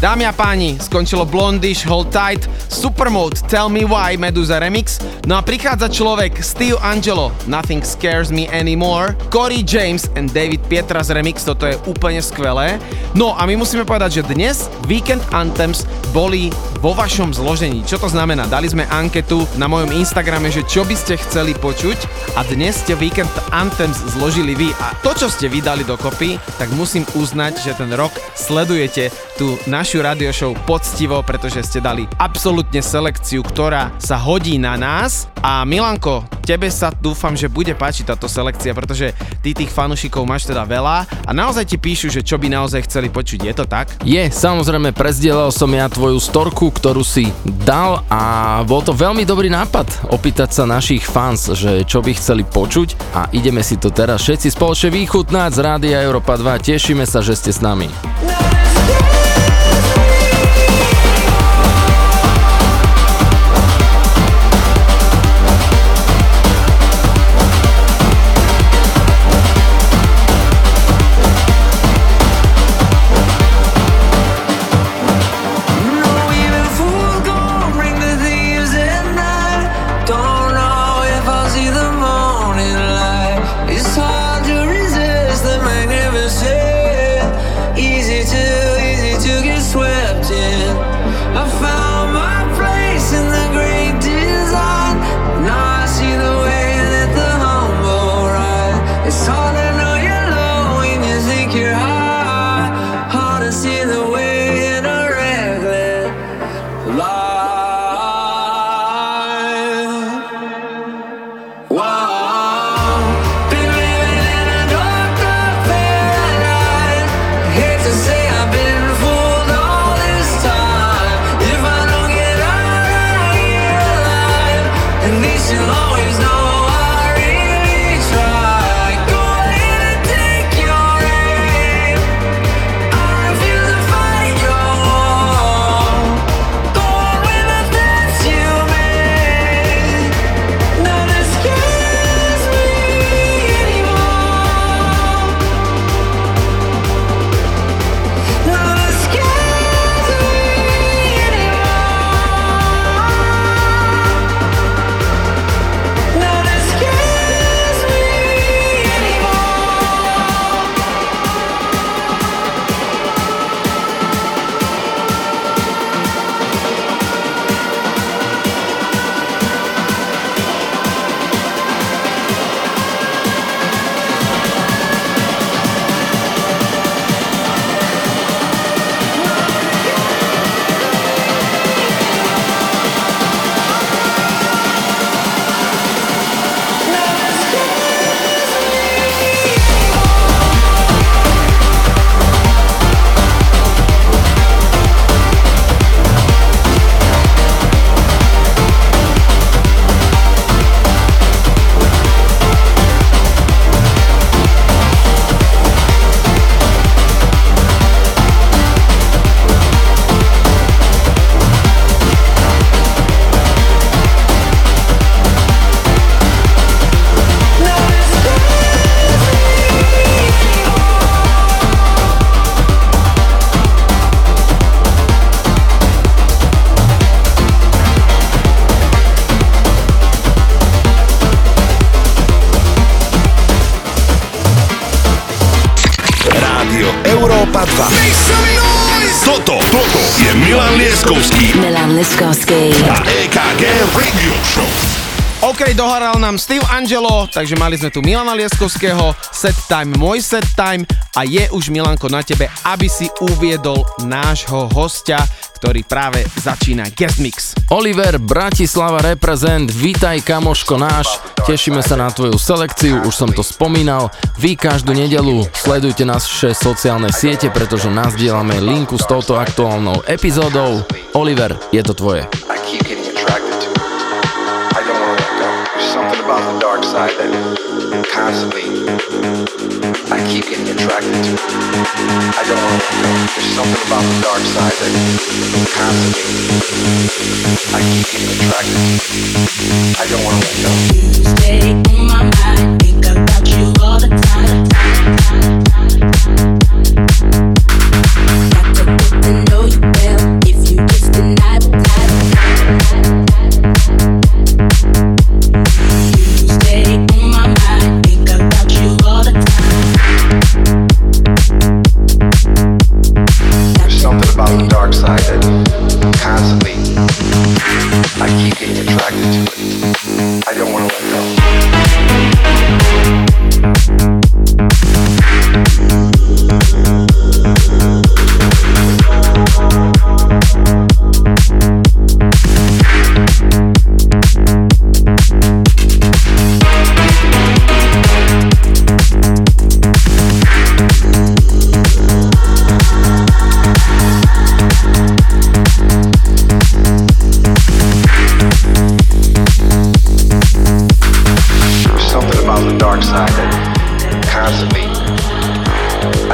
Dámy a páni, skončilo Blondish, Hold Tight, Supermode, Tell Me Why, Meduza Remix. No a prichádza človek Steve Angelo, Nothing Scares Me Anymore, Corey James and David Pietras Remix, toto je úplne skvelé. No a my musíme povedať, že dnes Weekend Anthems boli vo vašom zložení. Čo to znamená? Dali sme anketu na mojom Instagrame, že čo by ste chceli počuť a dnes ste Weekend Anthems zložili vy. A to, čo ste vydali dokopy, tak musím uznať, že ten rok sledujete tú našu radio show poctivo, pretože ste dali absolútne selekciu, ktorá sa hodí na nás. A Milanko, tebe sa dúfam, že bude páčiť táto selekcia, pretože ty tých fanúšikov máš teda veľa a naozaj ti píšu, že čo by naozaj chceli počuť. Je to tak? Je, samozrejme, prezdielal som ja tvoju storku, ktorú si dal a bol to veľmi dobrý nápad opýtať sa našich fans, že čo by chceli počuť a ideme si to teraz všetci spoločne vychutnať z Rádia Európa 2. Tešíme sa, že ste s nami. Toto je Milan Lieskovský a EKG Radio Show. OK, dohral nám Steve Angelo, takže mali sme tu Milana Lieskovského, set time, môj set time a je už Milanko na tebe, aby si uviedol nášho hostia, ktorý práve začína guest mix. Oliver, Bratislava reprezent, vítaj kamoško náš, tešíme sa na tvoju selekciu, už som to spomínal, vy každú nedeľu sledujte naše sociálne siete, pretože nazdielame linku s touto aktuálnou epizódou. Oliver, je to tvoje. About the dark side that constantly I keep getting attracted to. I don't want to let go. There's something about the dark side that constantly I keep getting attracted to. I don't want to let go. You stay in my mind, think about you all the time. Got to get to know you better.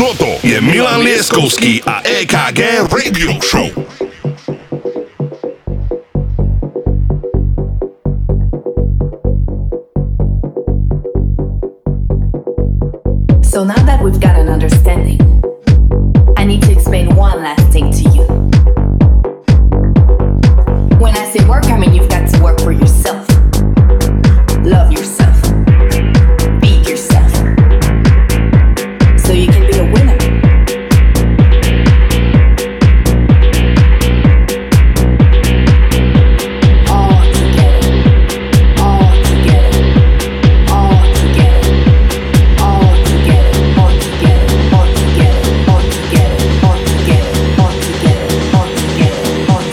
Toto je Milan Lieskovský a EKG Radio Show. So now that we've got an understanding, I need to explain one last thing to you. When I say work, I mean you've got to work for yourself. Love yourself. Be yourself. So you can be a winner. All together. All together. All together. All together. All together. All together. All together. All together. All together. All together. All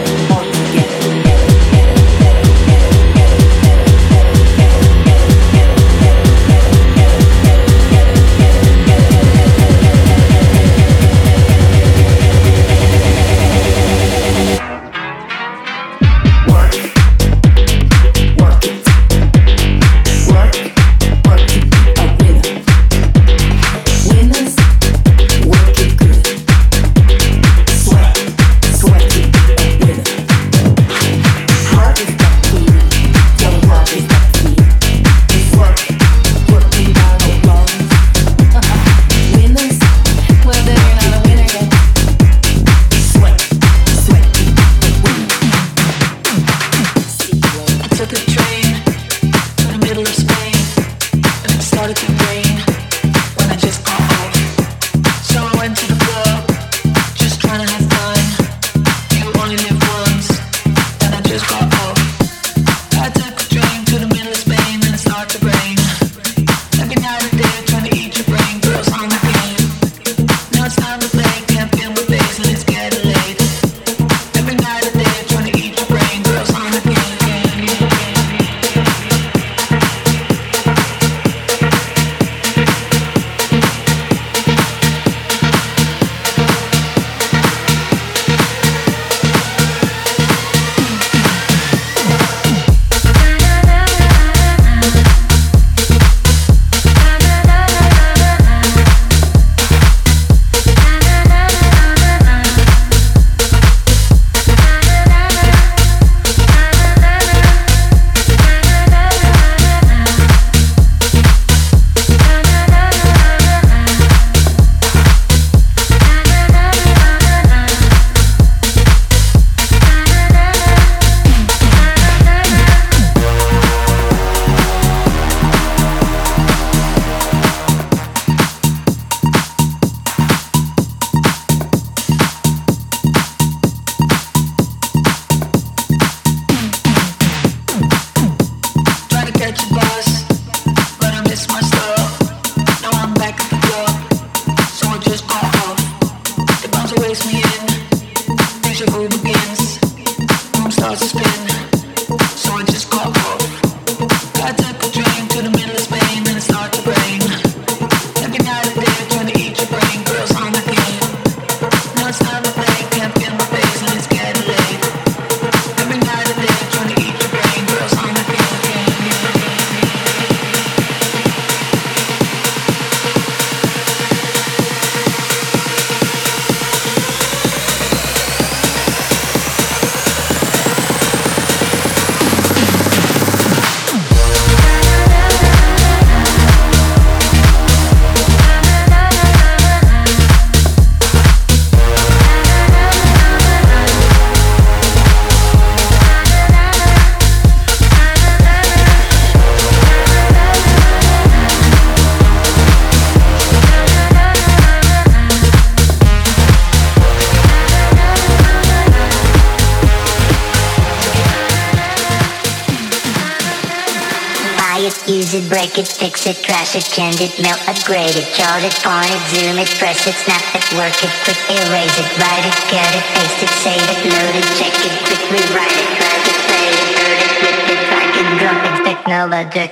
Use it, break it, fix it, trash it, change it, melt, upgrade it, chart it, point it, zoom it, press it, snap it, work it, quick erase it, write it, cut it, paste it, save it, load it, check it, quick rewrite it, drag it, play it, hurt it, flip it, drag it, drop it, technologic.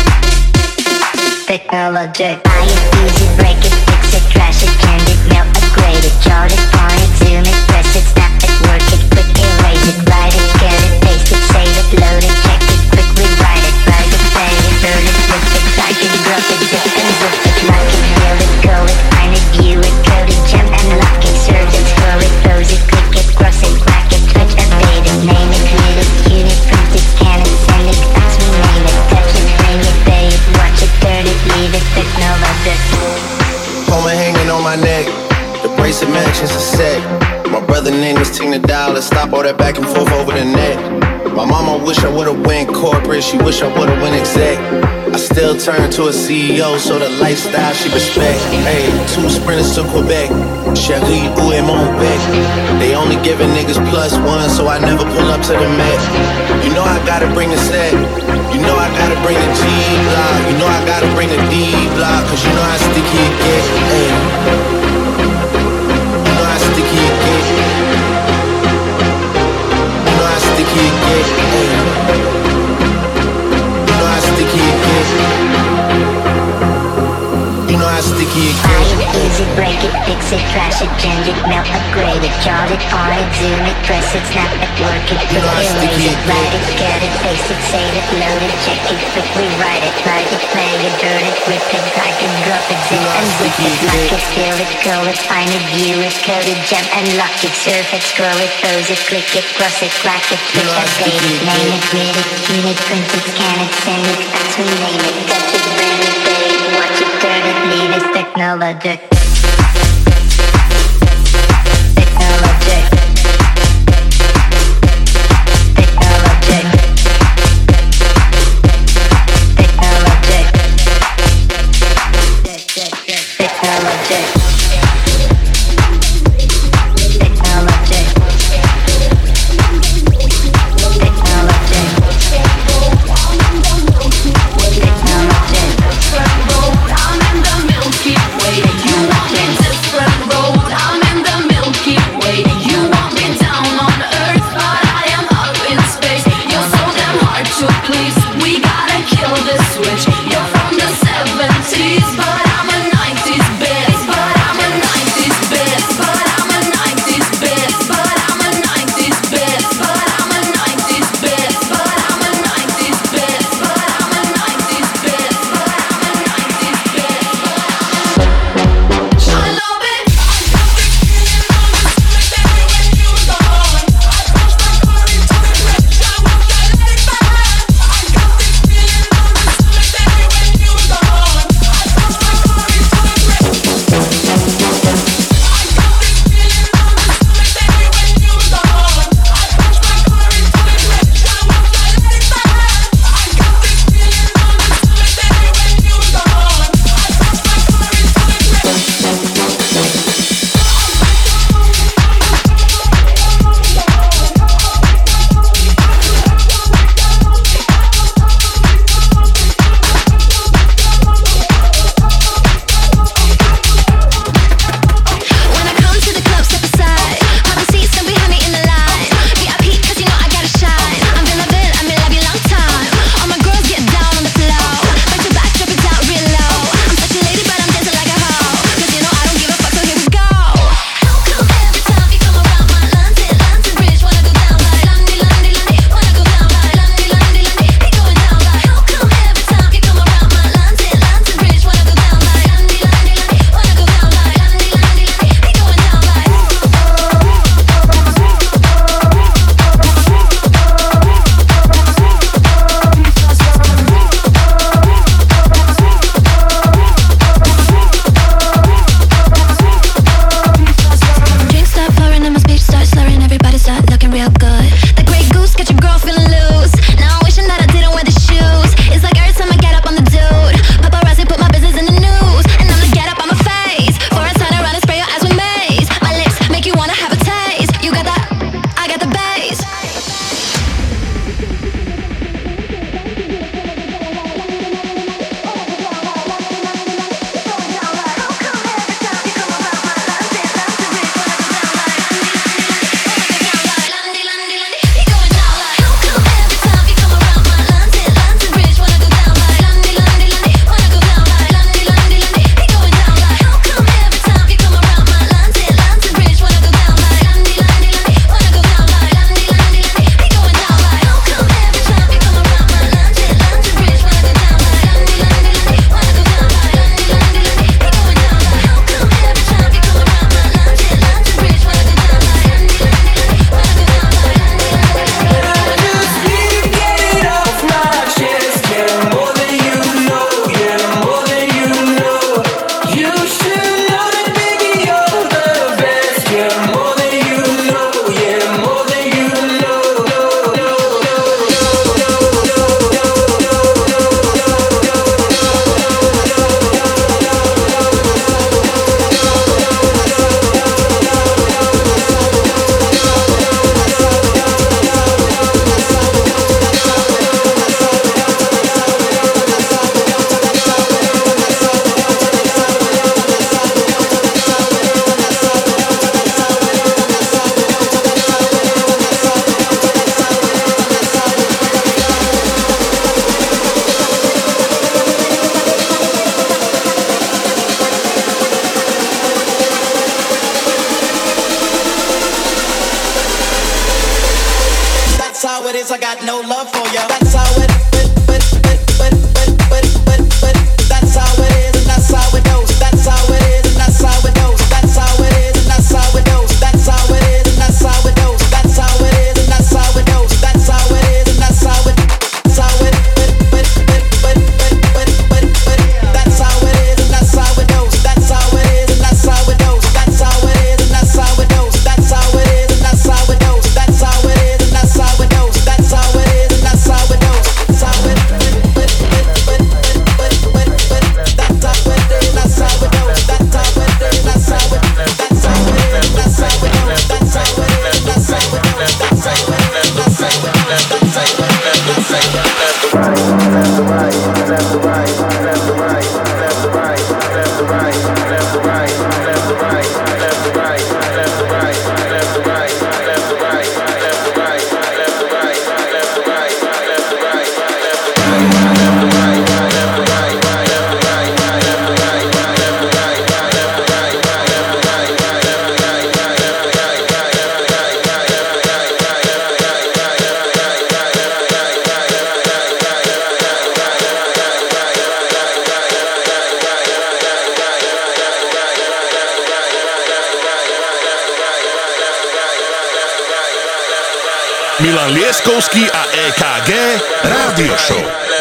Technologic. Buy it, use it, break it, fix it, trash it, change it, melt, upgrade upgrade it, chart it, on it, zoom it, press it, snap it, work it, quick erase it, write it, get it, paste it, save it, load it, check it, quickly write it, play it, burn it, flip it, type it, drop it, zip and zip it, lock it, build it, go it, find it, view it, code it, jump and lock it, serve it, scroll it, close it, click it, cross it, crack it, touch, update it, name it, read it, tune it, print it, scan it, send it, fax, rename it, touch it, bring it, pay it, watch it, turn it, leave it, technologic. Home hanging on my neck, the bracelet matches a set. My brother name is Ting the Dollar, stop all that back and forth over the net. My mama wish I would've went corporate, she wish I would've went exec. I still turn to a CEO, so the lifestyle she respect. Hey, 2 sprinters to Quebec, Cherie ou et mon bec. They only giving niggas +1, so I never pull up to the Met. You know I gotta bring the set, you know I gotta bring the G-Block, you know I gotta bring the D-Block, cause you know how sticky it get. Hey, you know how sticky it get. You know how sticky it get. Hey, you know how sticky it get. You know how sticky it Buy get. it, use it, break it, fix it, trash it, change it, melt, upgrade it, chart it, on it, zoom it, press it, snap it, work it, quick erase it, write it, get it, paste it, save it, load it, check it, quickly write it, write it, play it, burn it, rip it, type it, drop it, zip and zip it, lock it, fill it, call it, find it, view it, code it, jump and lock it, surf it, scroll it, close it, click it, cross it, crack it, switch, update it, name it, read it, tune it, print it, scan it, send it, fax, rename it, touch it, bring it, pay it, watch it, turn it, leave it, technologic. Switch. You're from the 70s, but I'm a 90s bitch. But I got no love for you. That's how it that's how it is, and that's how it goes. That's how it is, and that's how it goes. That's how it is, and that's how it goes. That's how it is, and that's how it goes. That's how it is, and that's how it goes. That's how it is, and that's how it. That's how it. That's how it is, and that's how it goes. That's how it is, and that's how it goes. That's how it is, and that's how it goes. That's how it is, and that's how it goes. That's how it is, and that's how it goes. That's how it is, and that's how it goes. That's how it. Milan Lieskovský a EKG Rádio Show.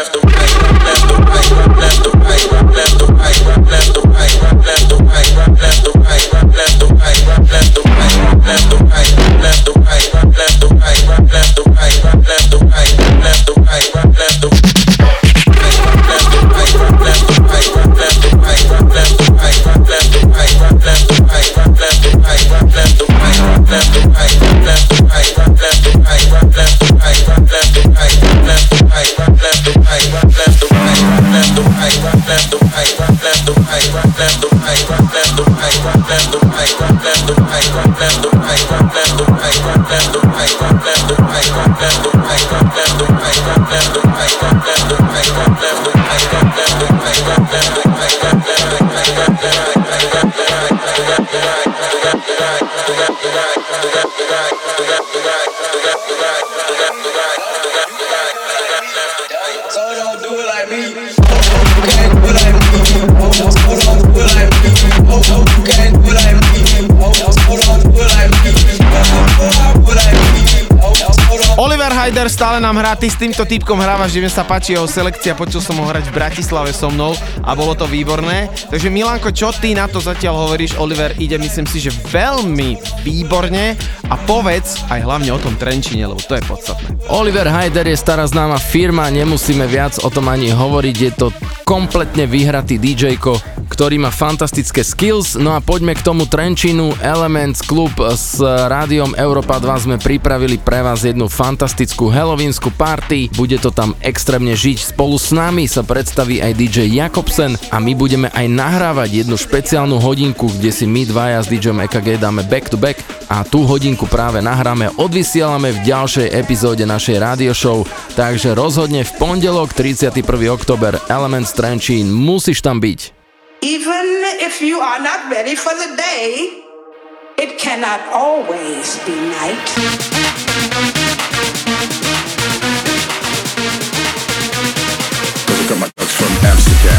Oliver Heider stále nám hrá, ty s týmto typkom hrávaš, že mi sa páči jeho selekcia, počul som ho hrať v Bratislave so mnou a bolo to výborné. Takže Milanko, čo ty na to zatiaľ hovoríš? Oliver ide, myslím si, že veľmi výborne a povedz aj hlavne o tom Trenčine, lebo to je podstatné. Oliver Heider je stará známa firma, nemusíme viac o tom ani hovoriť, je to kompletne vyhratý DJ-ko, ktorý má fantastické skills. No a poďme k tomu Trenčínu. Elements Club s rádiom Európa 2 sme pripravili pre vás jednu fantastickú halloweensku party. Bude to tam extrémne žiť. Spolu s nami sa predstaví aj DJ Jakobsen a my budeme aj nahrávať jednu špeciálnu hodinku, kde si my dvaja s DJom EKG dáme back to back a tú hodinku práve nahráme, odvysielame v ďalšej epizóde našej radio show. Takže rozhodne v pondelok 31. október Elements Trenčín, musíš tam byť. Even if you are not ready for the day, it cannot always be night. From Amsterdam.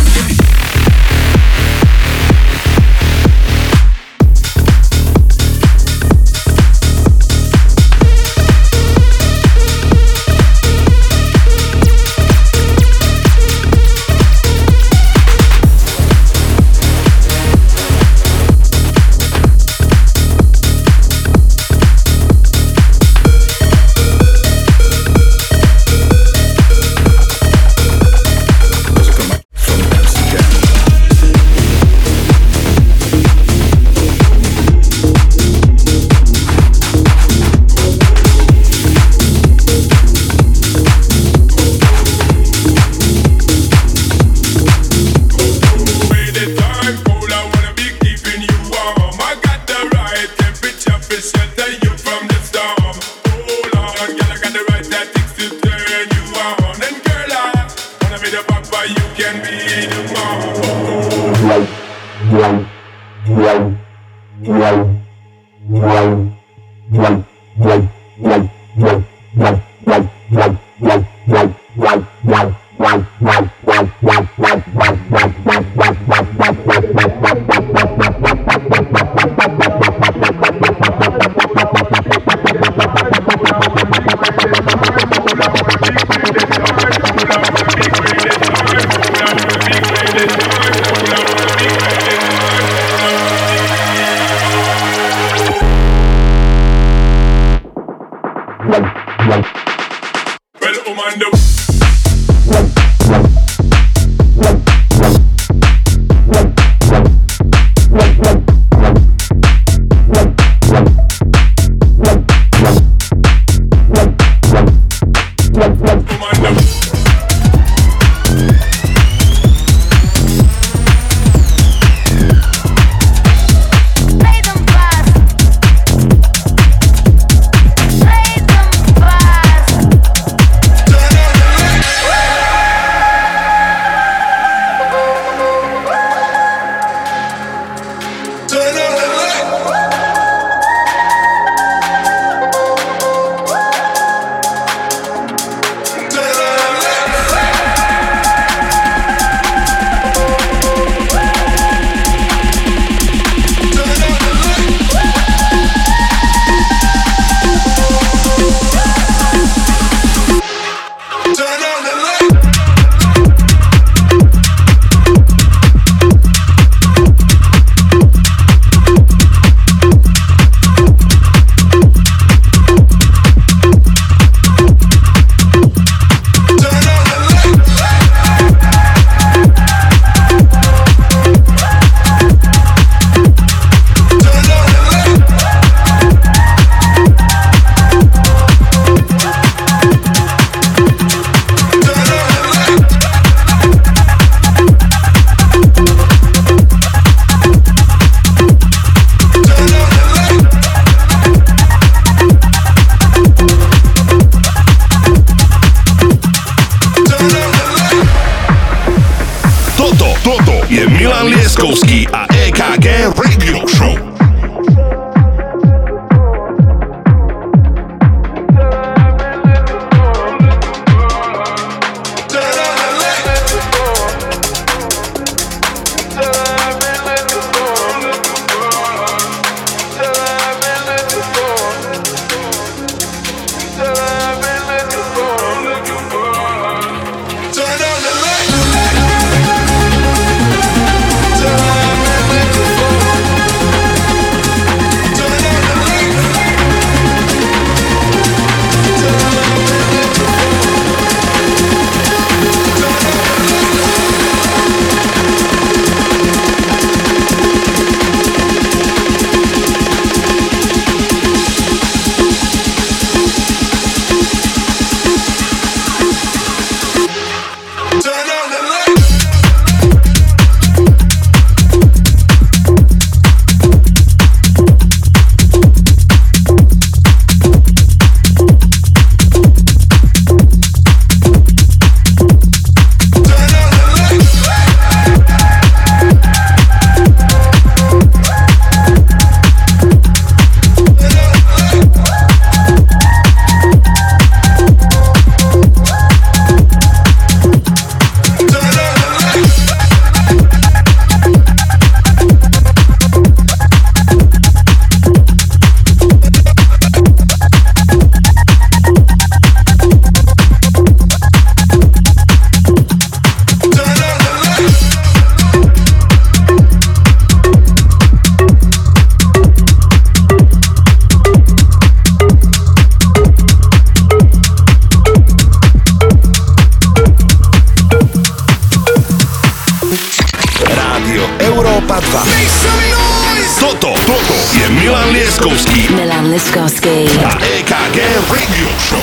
Milan Lieskovský a EKG Radio Show.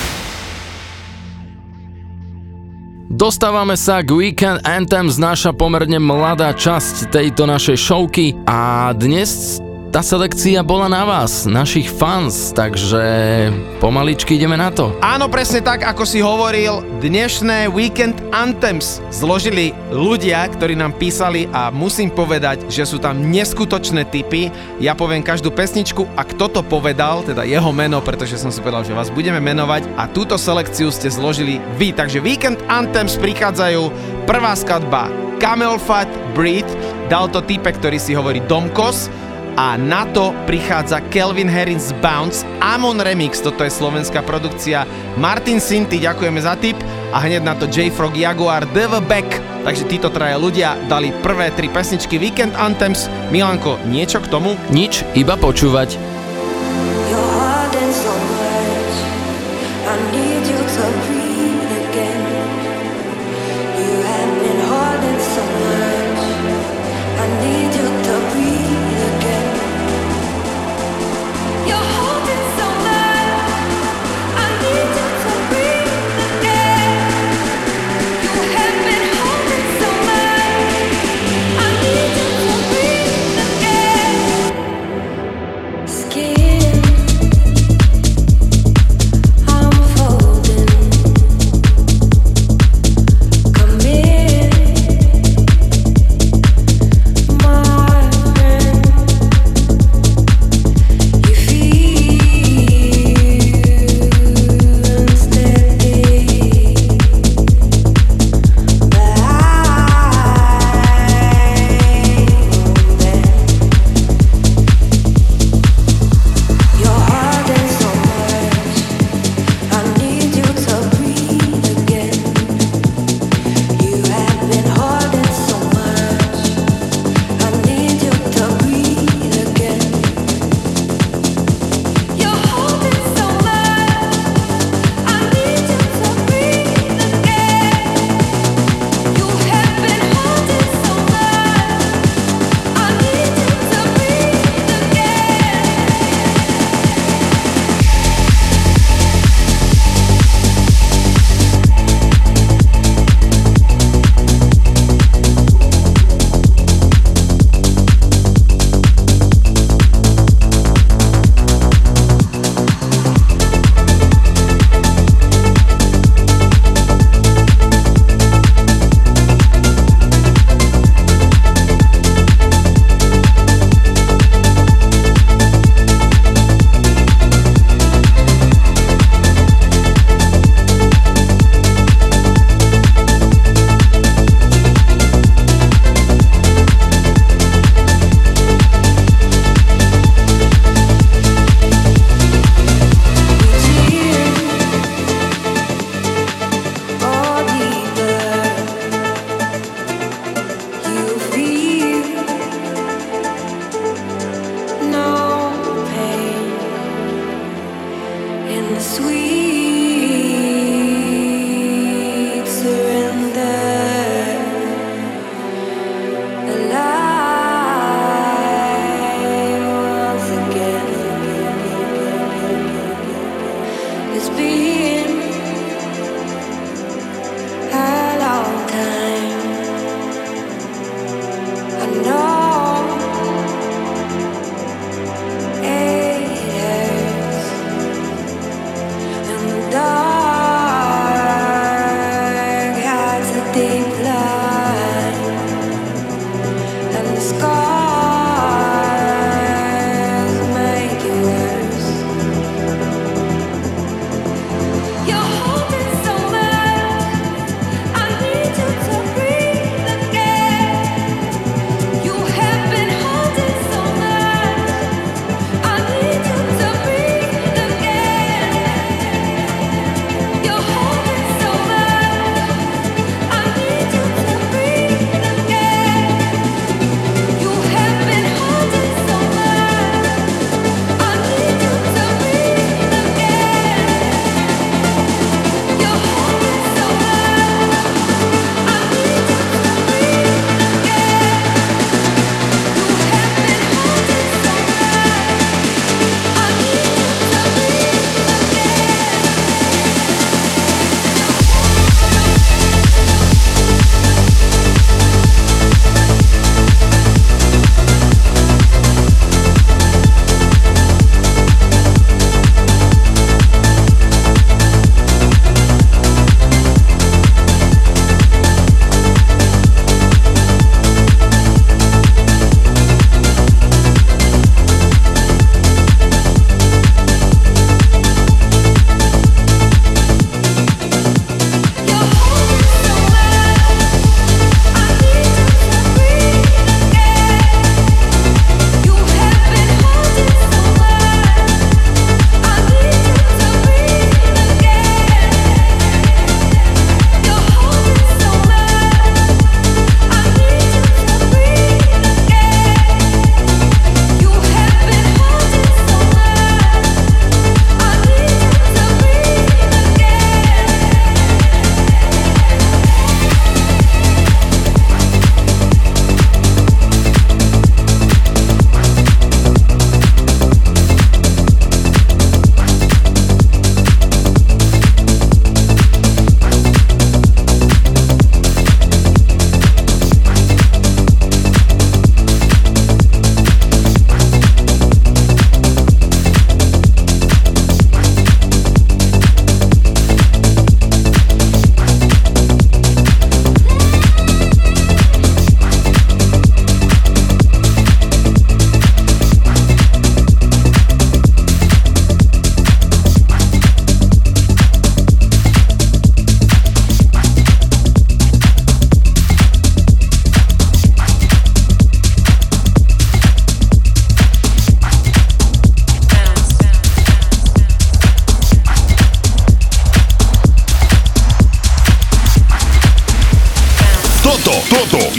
Dostávame sa k Weekend Anthems, naša pomerne mladá časť tejto našej showky a dnes tá selekcia bola na vás, našich fans, takže pomaličky ideme na to. Áno, presne tak, ako si hovoril, dnešné Weekend Anthems zložili ľudia, ktorí nám písali a musím povedať, že sú tam neskutočné tipy. Ja poviem každú pesničku a kto to povedal, teda jeho meno, pretože som si povedal, že vás budeme menovať a túto selekciu ste zložili vy. Takže Weekend Anthems prichádzajú, prvá skladba Camel Fat Breed, dal to typek, ktorý si hovorí Domkos, a na to prichádza Calvin Harris Bounce, Amon Remix, toto je slovenská produkcia, Martin Sinty, ďakujeme za tip, a hneď na to J-Frog Jaguar, Devil Back. Takže títo traja ľudia dali prvé 3 pesničky Weekend Anthems. Milanko, niečo k tomu? Nič, iba počúvať. Skin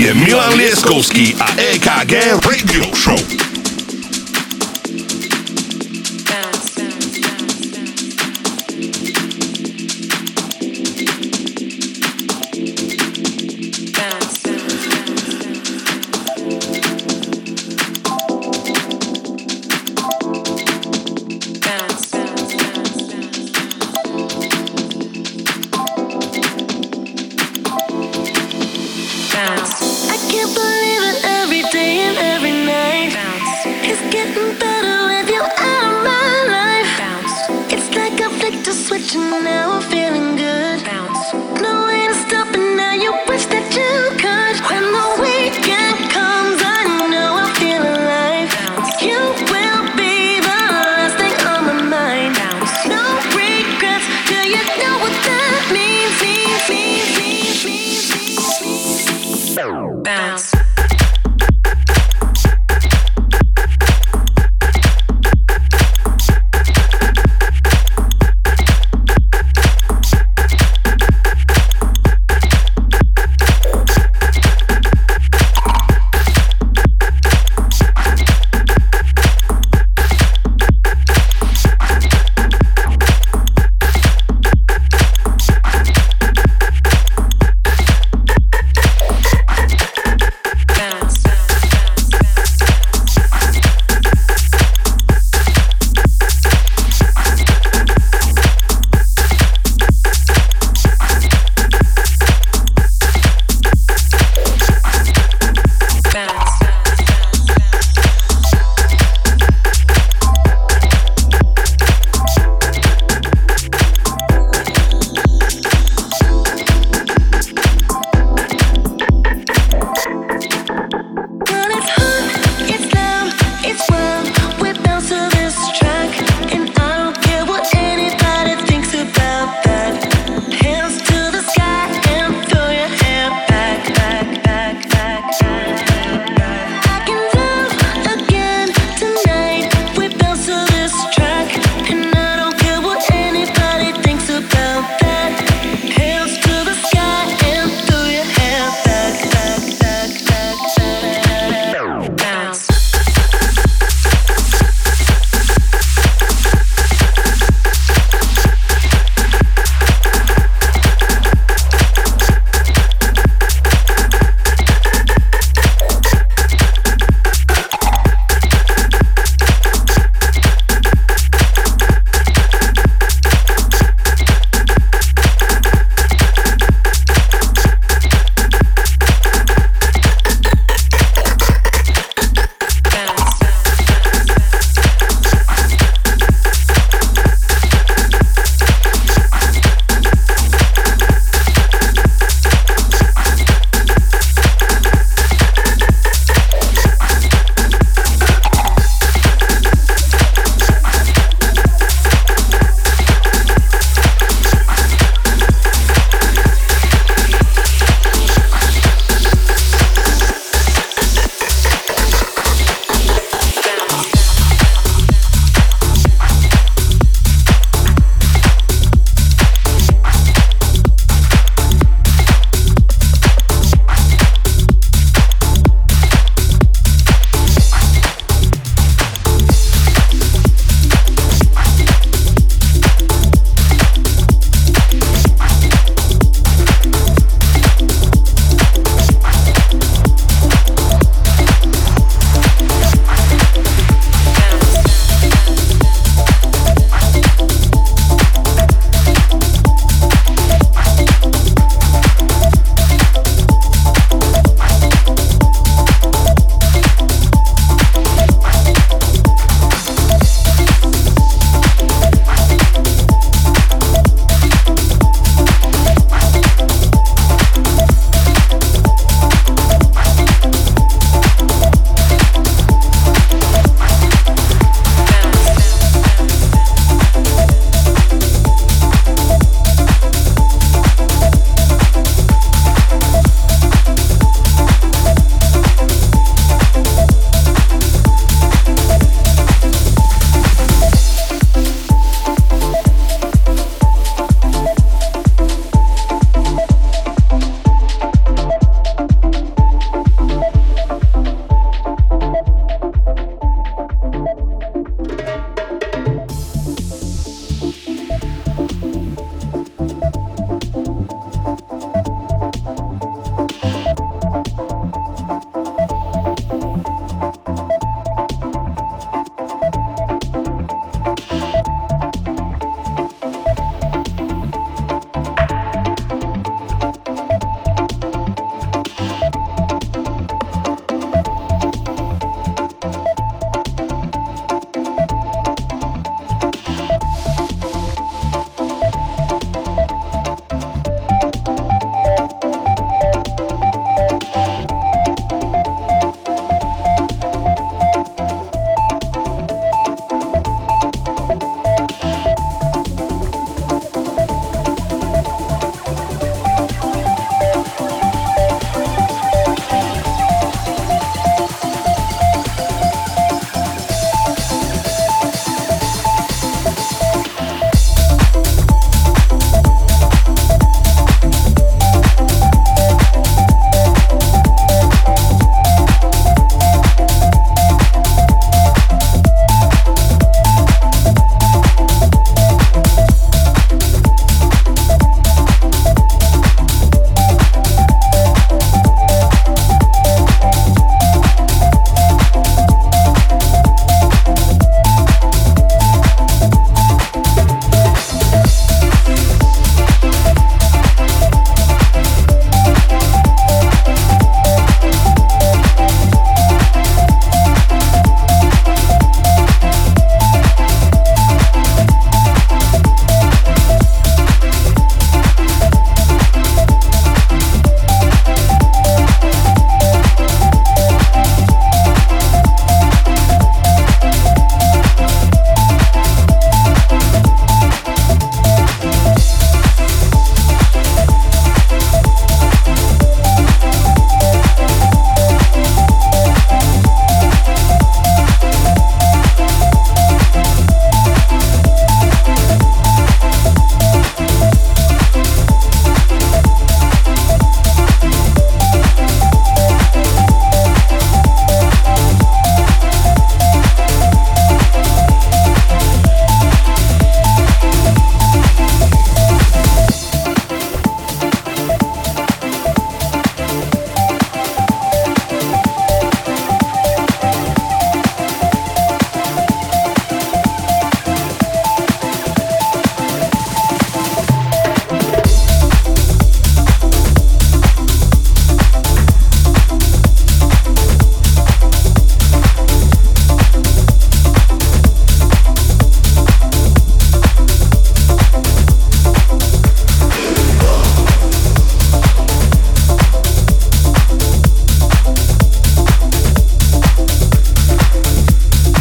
je Milan Lieskovský a EKG Radio Show. I can't believe it every day and every night.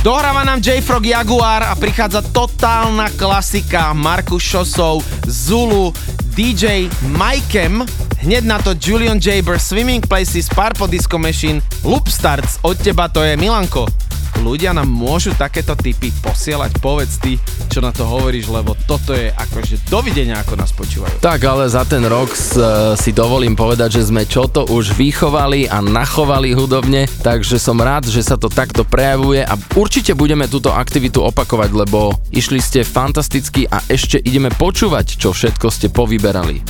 Dohráva nám J-Frog Jaguar a prichádza totálna klasika Markus Šosov, Zulu, DJ Mikem, hneď na to Julian Jaber, Swimming Places, Purple Disco Machine, Loop Starts, od teba to je Milanko. Ľudia nám môžu takéto tipy posielať, povedz ty, čo na to hovoríš, lebo toto je akože dovidenia, ako nás počúvajú. Tak, ale za ten rok si dovolím povedať, že sme čo to už vychovali a nachovali hudobne, takže som rád, že sa to takto prejavuje a určite budeme túto aktivitu opakovať, lebo išli ste fantasticky a ešte ideme počúvať, čo všetko ste povyberali.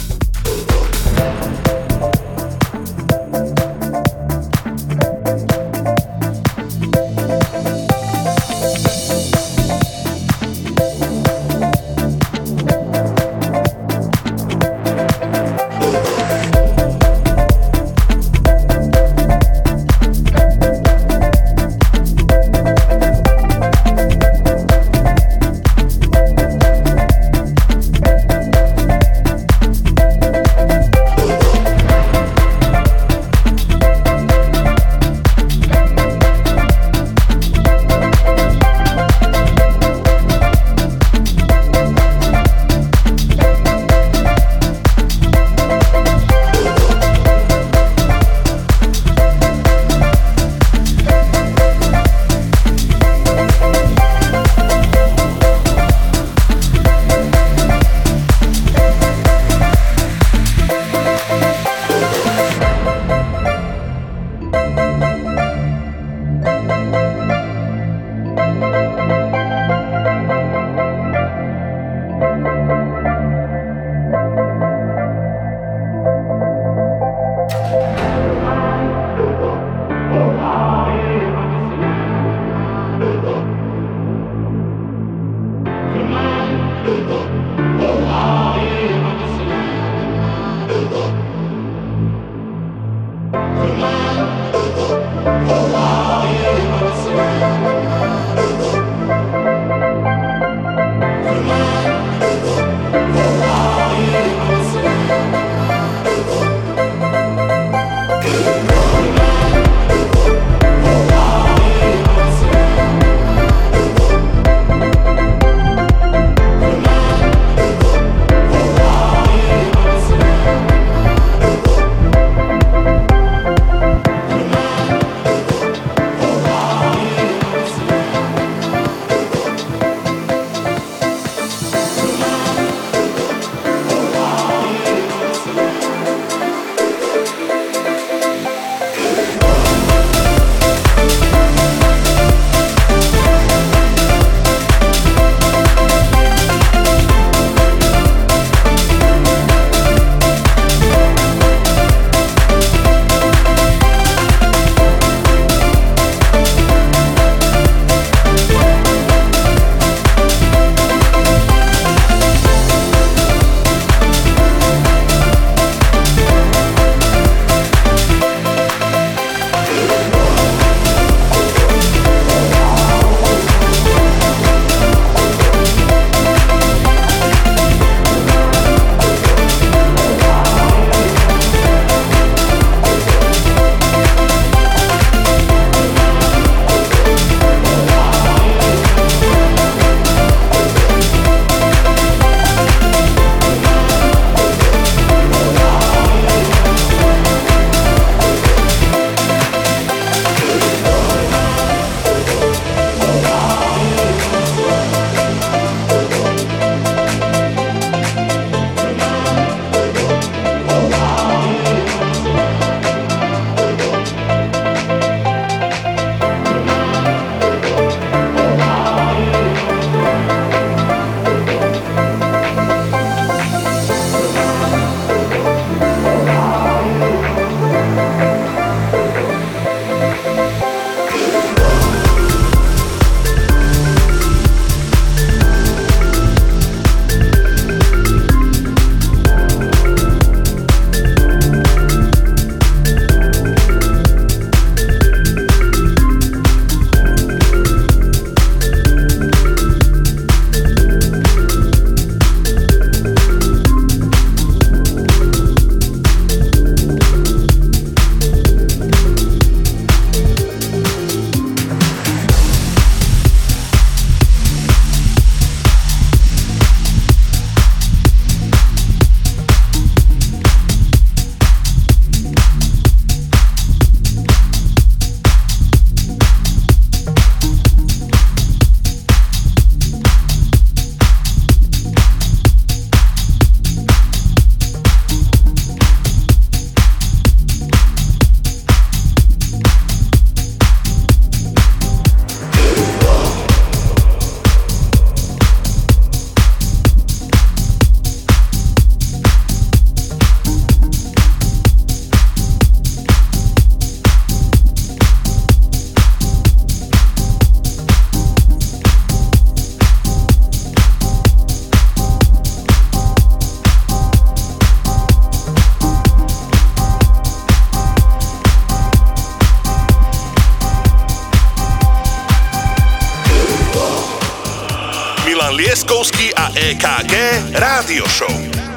Milan Lieskovský a EKG Rádio Show.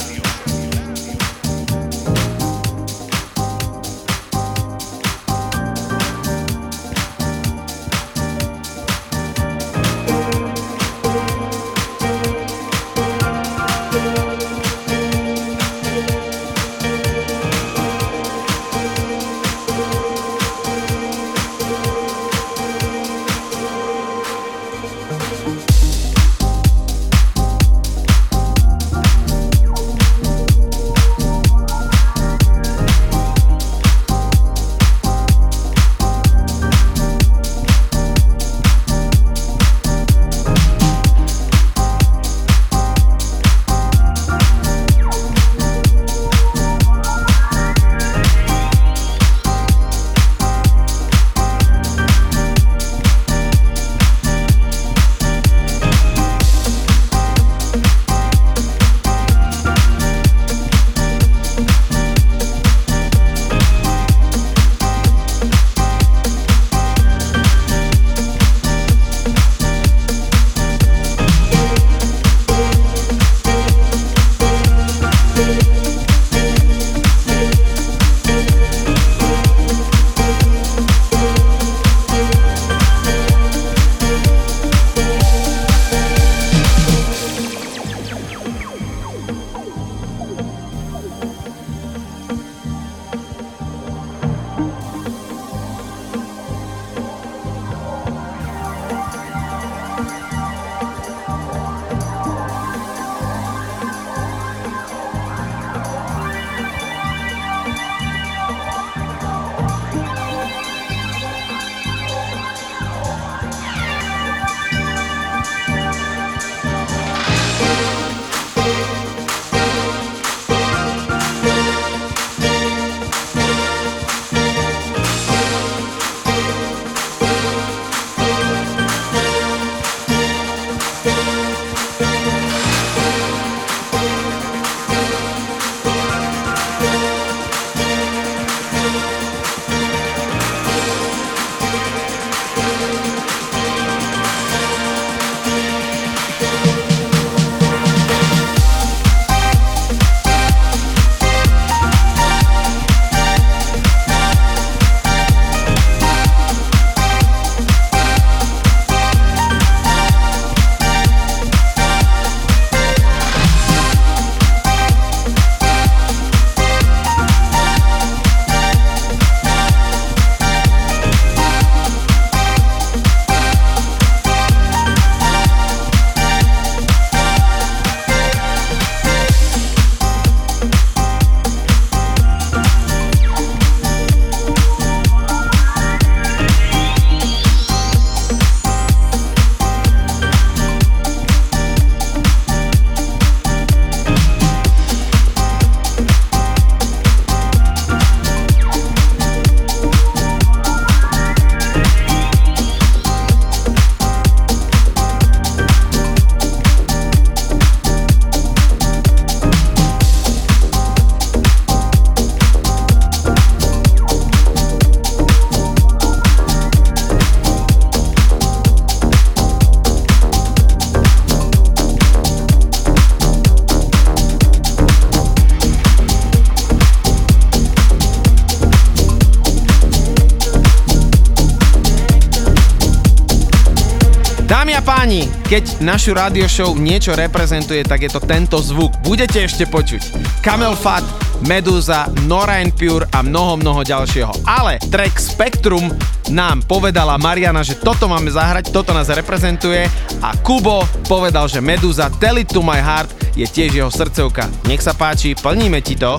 Páni, keď našu radio show niečo reprezentuje, tak je to tento zvuk. Budete ešte počuť Camel Fat, Meduza, Nora & Pure a mnoho ďalšieho. Ale track Spectrum nám povedala Mariana, že toto máme zahrať, toto nás reprezentuje a Kubo povedal, že Meduza Tell It To My Heart je tiež jeho srdcovka. Nech sa páči, plníme ti to.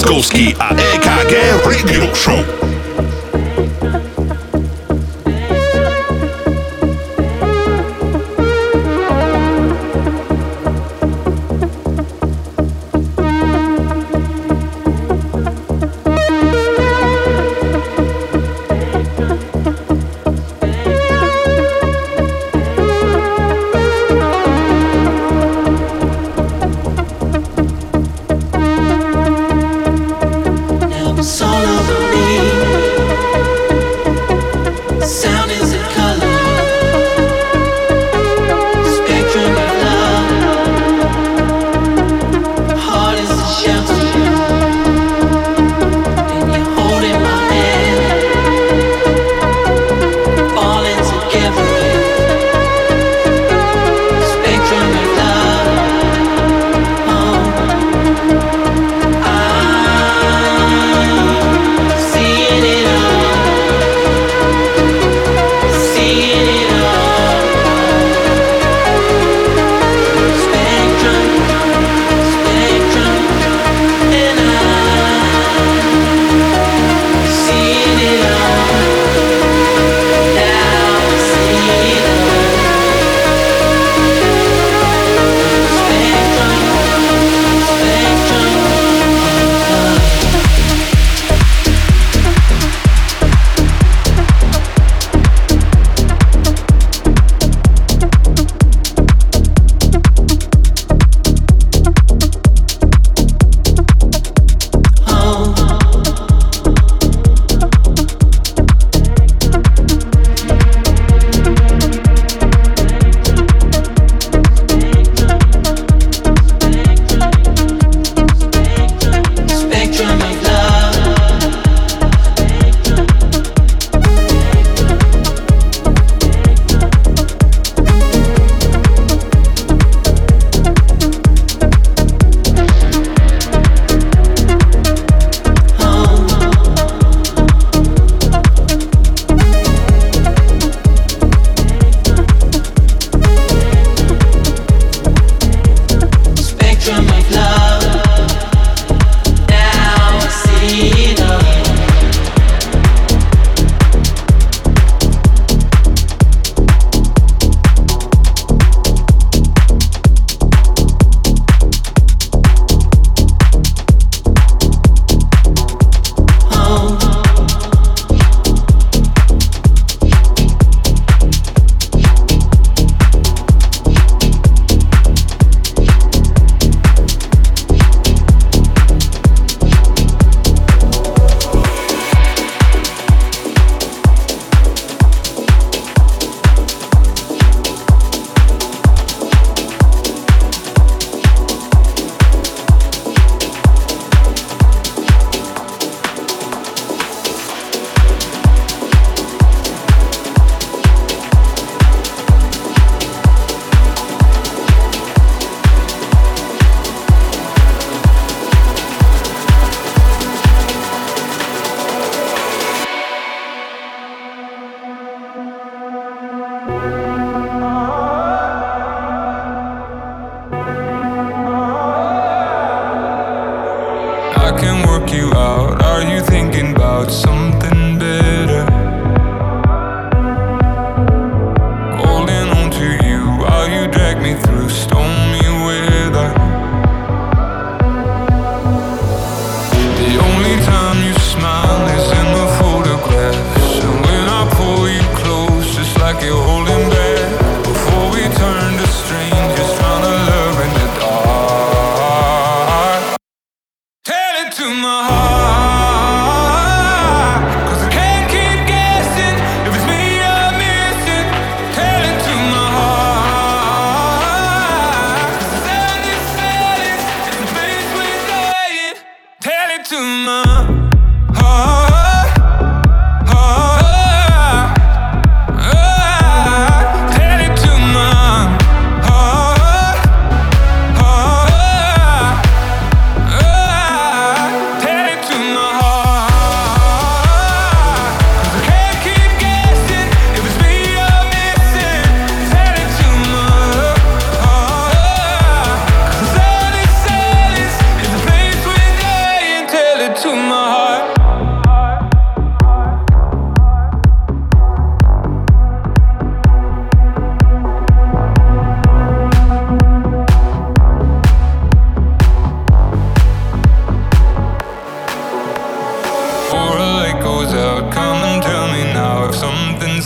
Lieskovský a EKG Radio Show. It's all over me.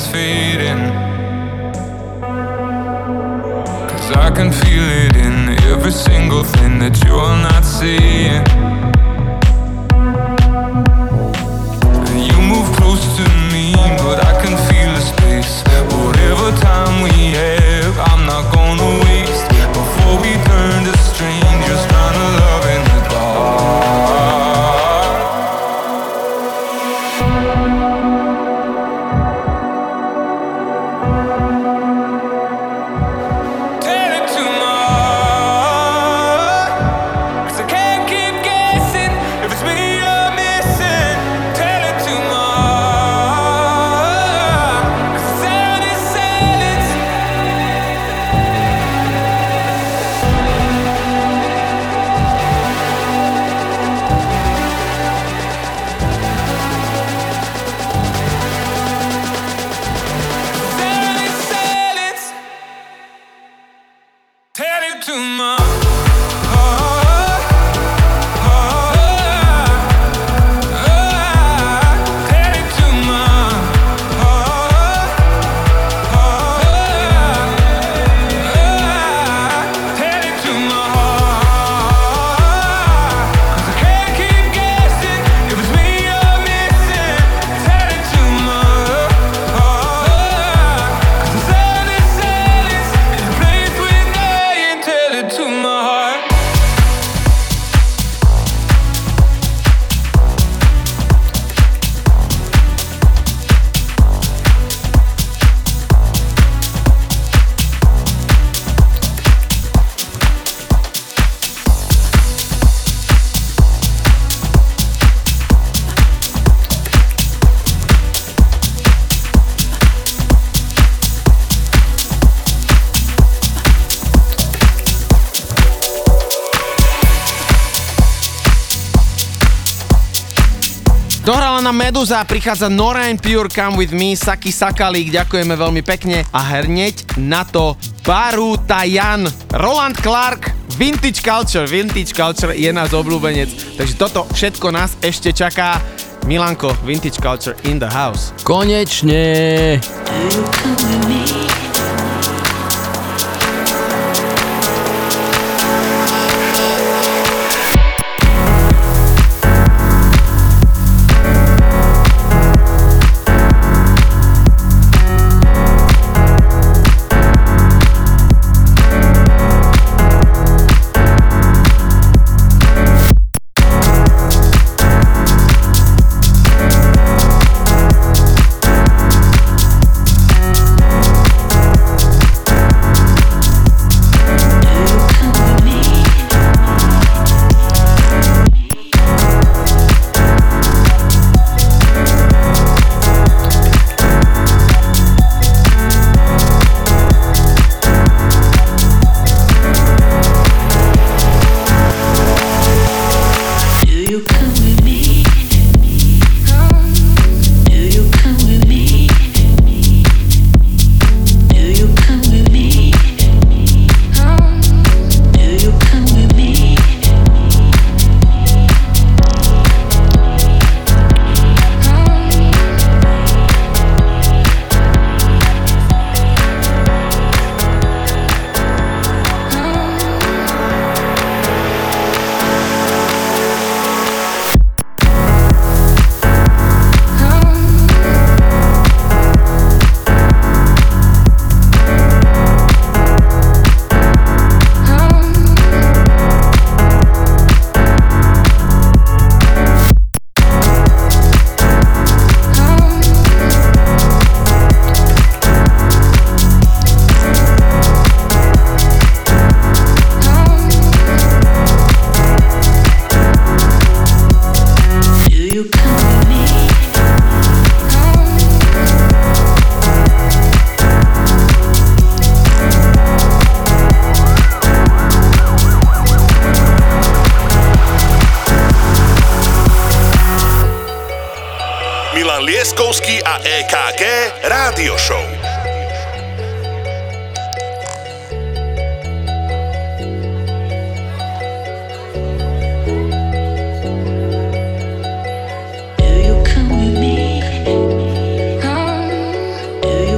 fading. 'Cause I can feel it in every single thing that you're not seeing. You move close to me, but I can feel the space. Whatever time we have, I'm not gonna waste. Before we turn to strangers, trying to love in the dark. Tell it to my heart, 'cause I can't keep guessing if it's me you're missing. Tell it to my heart, 'cause the sound is silence. Tell it to my heart, tell it to my heart, tell it to my heart, 'cause I can't keep guessing if it's me you're missing. Tell it to my heart, 'cause the sound is silence in a place we're dying. Tell it to my heart. Dohrala nám Meduza, prichádza Nora And Pure, Come With Me, Saki Sakalík, ďakujeme veľmi pekne a hneď na to Baru Tajan, Roland Clark, Vintage Culture je náš obľúbenec, takže toto všetko nás ešte čaká. Milanko, Vintage Culture in the house. Konečne! Lieskovský a EKG Rádio Show. Do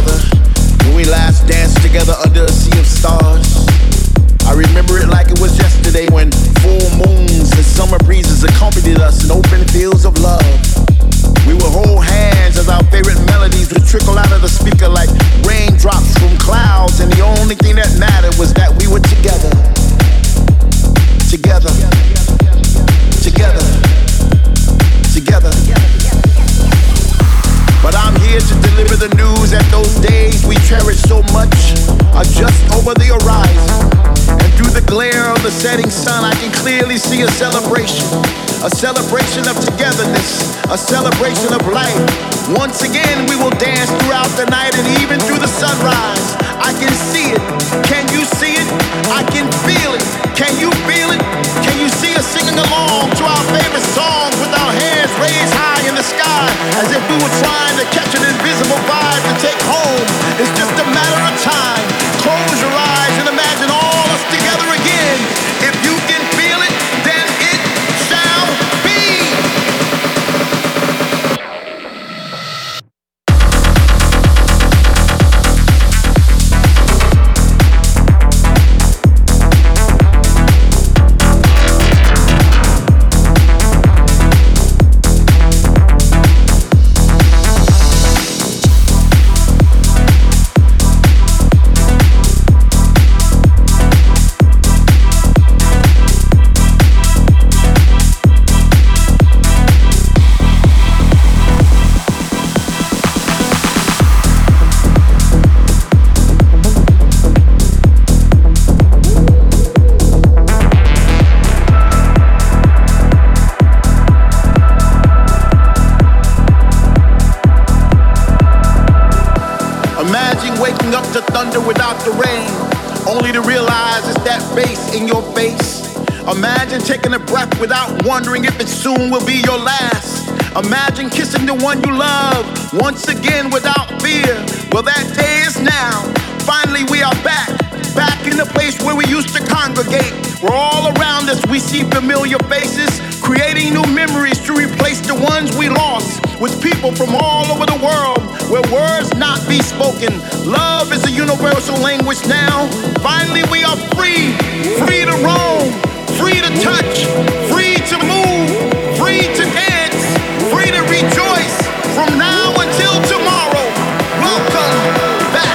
brother, when we last danced together under a sea of stars. I remember it like it was yesterday when full moons and summer breezes accompanied us in open fields of love. We would hold hands as our favorite melodies would trickle out of the speaker like raindrops from clouds, and the only thing that mattered was that we were together. Together. Together. Together. But I'm here to deliver the news that those days we cherish so much are just over the horizon. And through the glare of the setting sun, I can clearly see a celebration of togetherness, a celebration of life. Once again, we will dance throughout the night and even through the sunrise. I can see it. Can you see it? I can feel it. Can you feel it? Can you see us singing along to our favorite songs with our hands raised high in the sky as if we were trying to catch an invisible vibe to take home? It's just a matter of time. Close your eyes and imagine all us together again. If you can feel it, then it shall be. Imagine taking a breath without wondering if it soon will be your last. Imagine kissing the one you love once again without fear. Well, that day is now. Finally, we are back in the place where we used to congregate. Where all around us we see familiar faces, creating new memories to replace the ones we lost. With people from all over the world, where words not be spoken. Love is a universal language now. Finally, we are free to roam. Free to touch, free to move, free to dance, free to rejoice from now until tomorrow. Welcome back.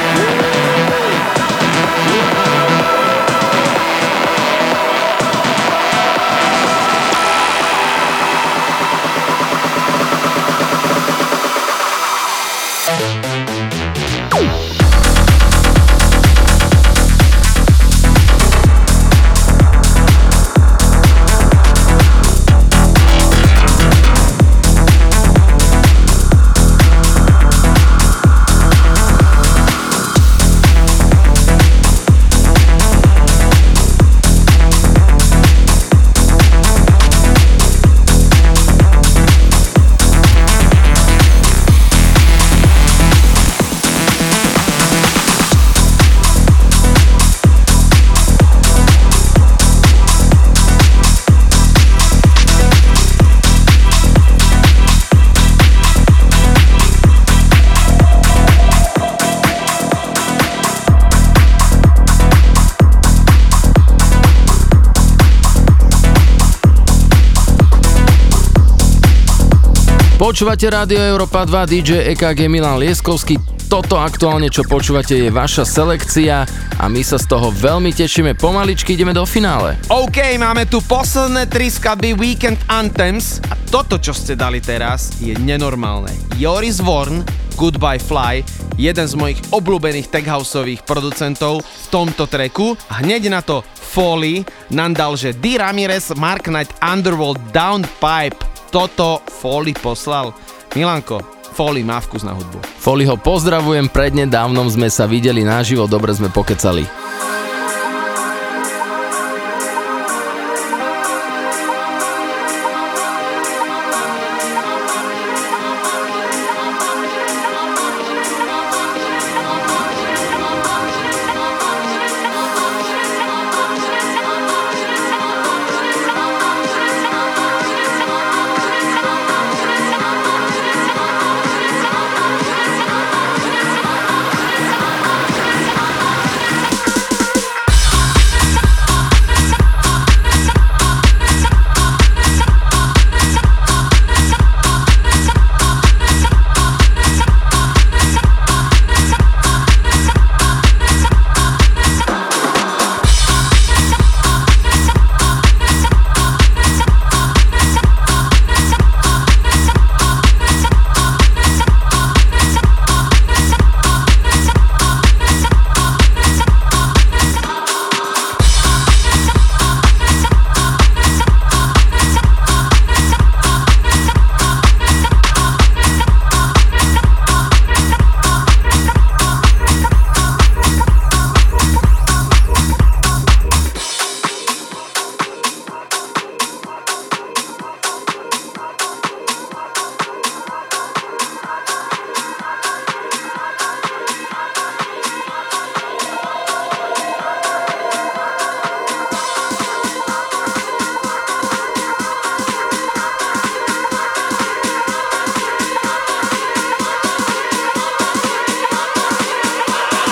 Počúvate Rádio Európa 2, DJ EKG Milan Lieskovský. Toto aktuálne, čo počúvate, je vaša selekcia a my sa z toho veľmi tešíme. Pomaličky ideme do finále. OK, máme tu posledné 3 skladby Weekend Anthems a toto, čo ste dali teraz, je nenormálne. Joris Vorn, Goodbye Fly, jeden z mojich obľúbených techhouseových producentov v tomto tracku. A hneď na to Foley nám dal, že D. Ramirez, Mark Knight, Underworld, Downpipe. Toto Foley poslal. Milanko, Foley má vkus na hudbu. Foleyho pozdravujem, prednedávnom sme sa videli naživo, dobre sme pokecali.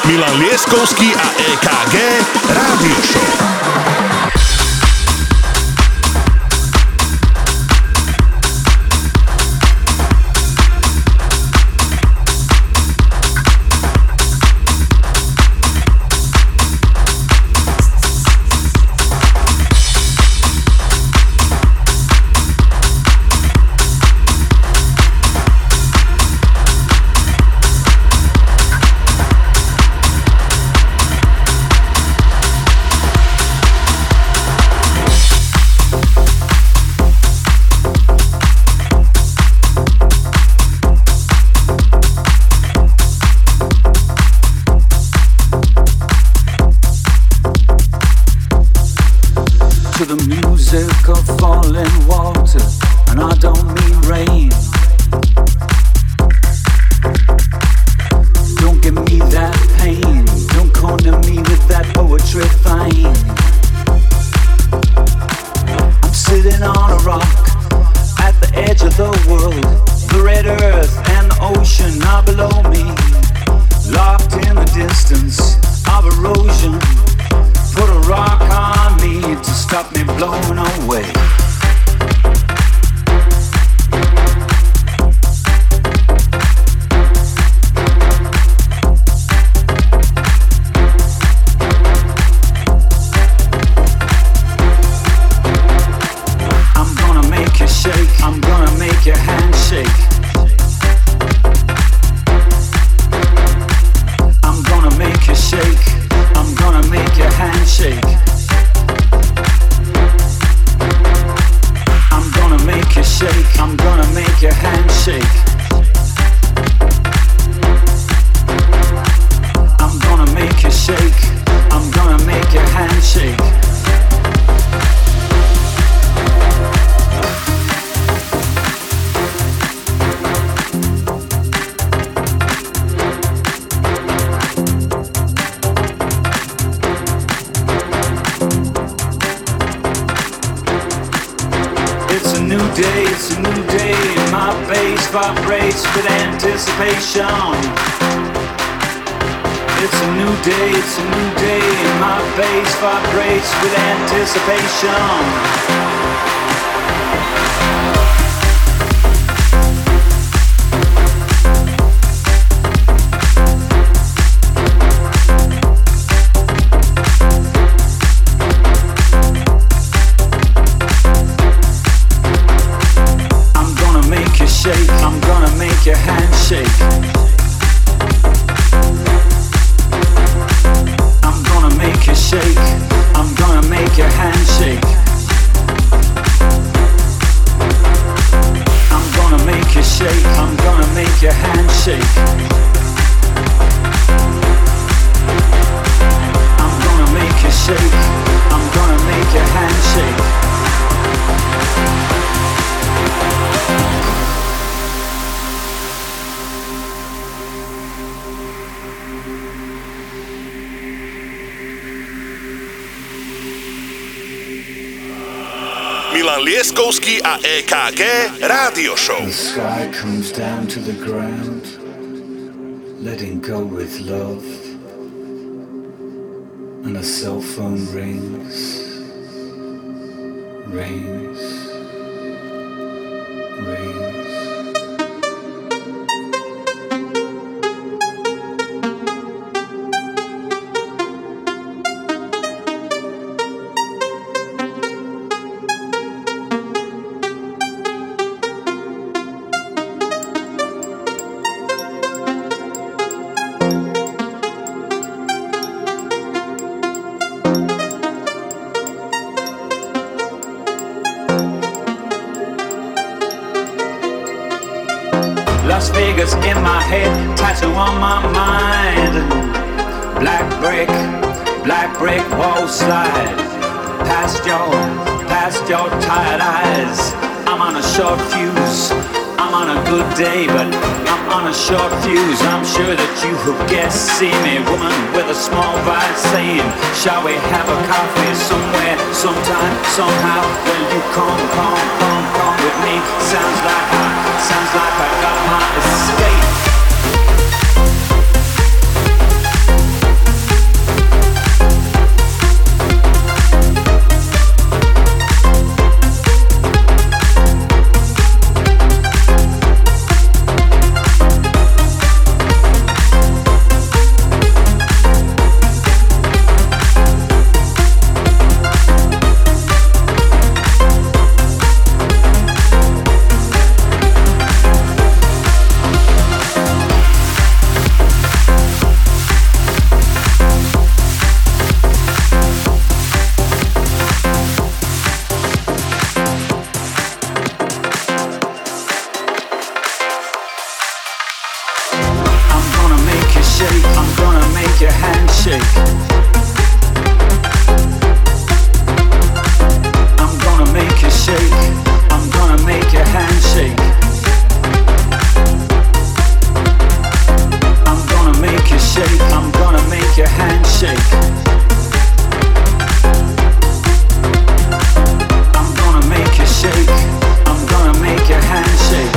Milan Lieskovský a EKG Rádio Show. Milan Lieskovský a EKG Rádio Show. The sky comes down to the ground, letting go with love, and a cell phone rings, rings, rings. Las Vegas in my head, tattoo on my mind. Black brick wall slide. Past your tired eyes. I'm on a short fuse. I'm on a good day, but I'm on a short fuse. I'm sure that you have guessed. See me, woman with a small vibe, saying, shall we have a coffee somewhere, sometime, somehow? Will you come with me? Sounds like I got my escape. shake. I'm gonna make you shake. I'm gonna make your hand shake. I'm gonna make you shake. I'm gonna make your hand shake. I'm gonna make you shake. I'm gonna make your hand shake.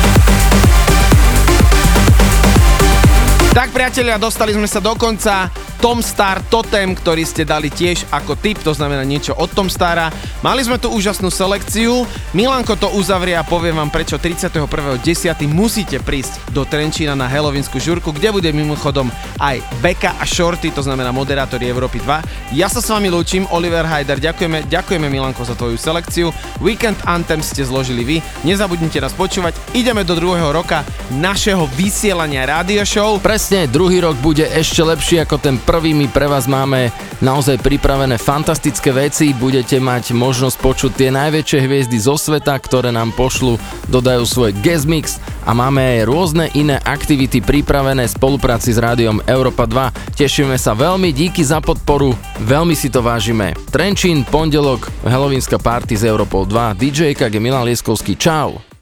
priatelia, dostali sme sa do konca Tom Star Totem, ktorý ste dali tiež ako tip, to znamená niečo od Tom Stara. Mali sme tu úžasnú selekciu, Milanko to uzavrie a poviem vám prečo 31.10. musíte prísť do Trenčína na Halloweensku žurku, kde bude mimochodom aj Beka a Shorty, to znamená moderátori Európy 2. Ja sa s vami lúčim, Oliver Hajder, ďakujeme Milanko za tvoju selekciu. Weekend Anthem ste zložili vy, nezabudnite nás počúvať, ideme do druhého roka našeho vysielania rádio show. Presne, druhý rok bude ešte lepší ako ten prvý, my pre vás máme naozaj pripravené fantastické veci, budete mať možnosť počuť tie najväčšie hviezdy zo sveta, ktoré nám pošlu, dodajú svoj guest mix a máme aj rôzne iné aktivity pripravené v spolupráci s rádiom Európa 2. Tešíme sa veľmi, díky za podporu, veľmi si to vážime. Trenčín, pondelok, Halloweenská party s Európou 2, DJ EKG Milan Lieskovský, čau.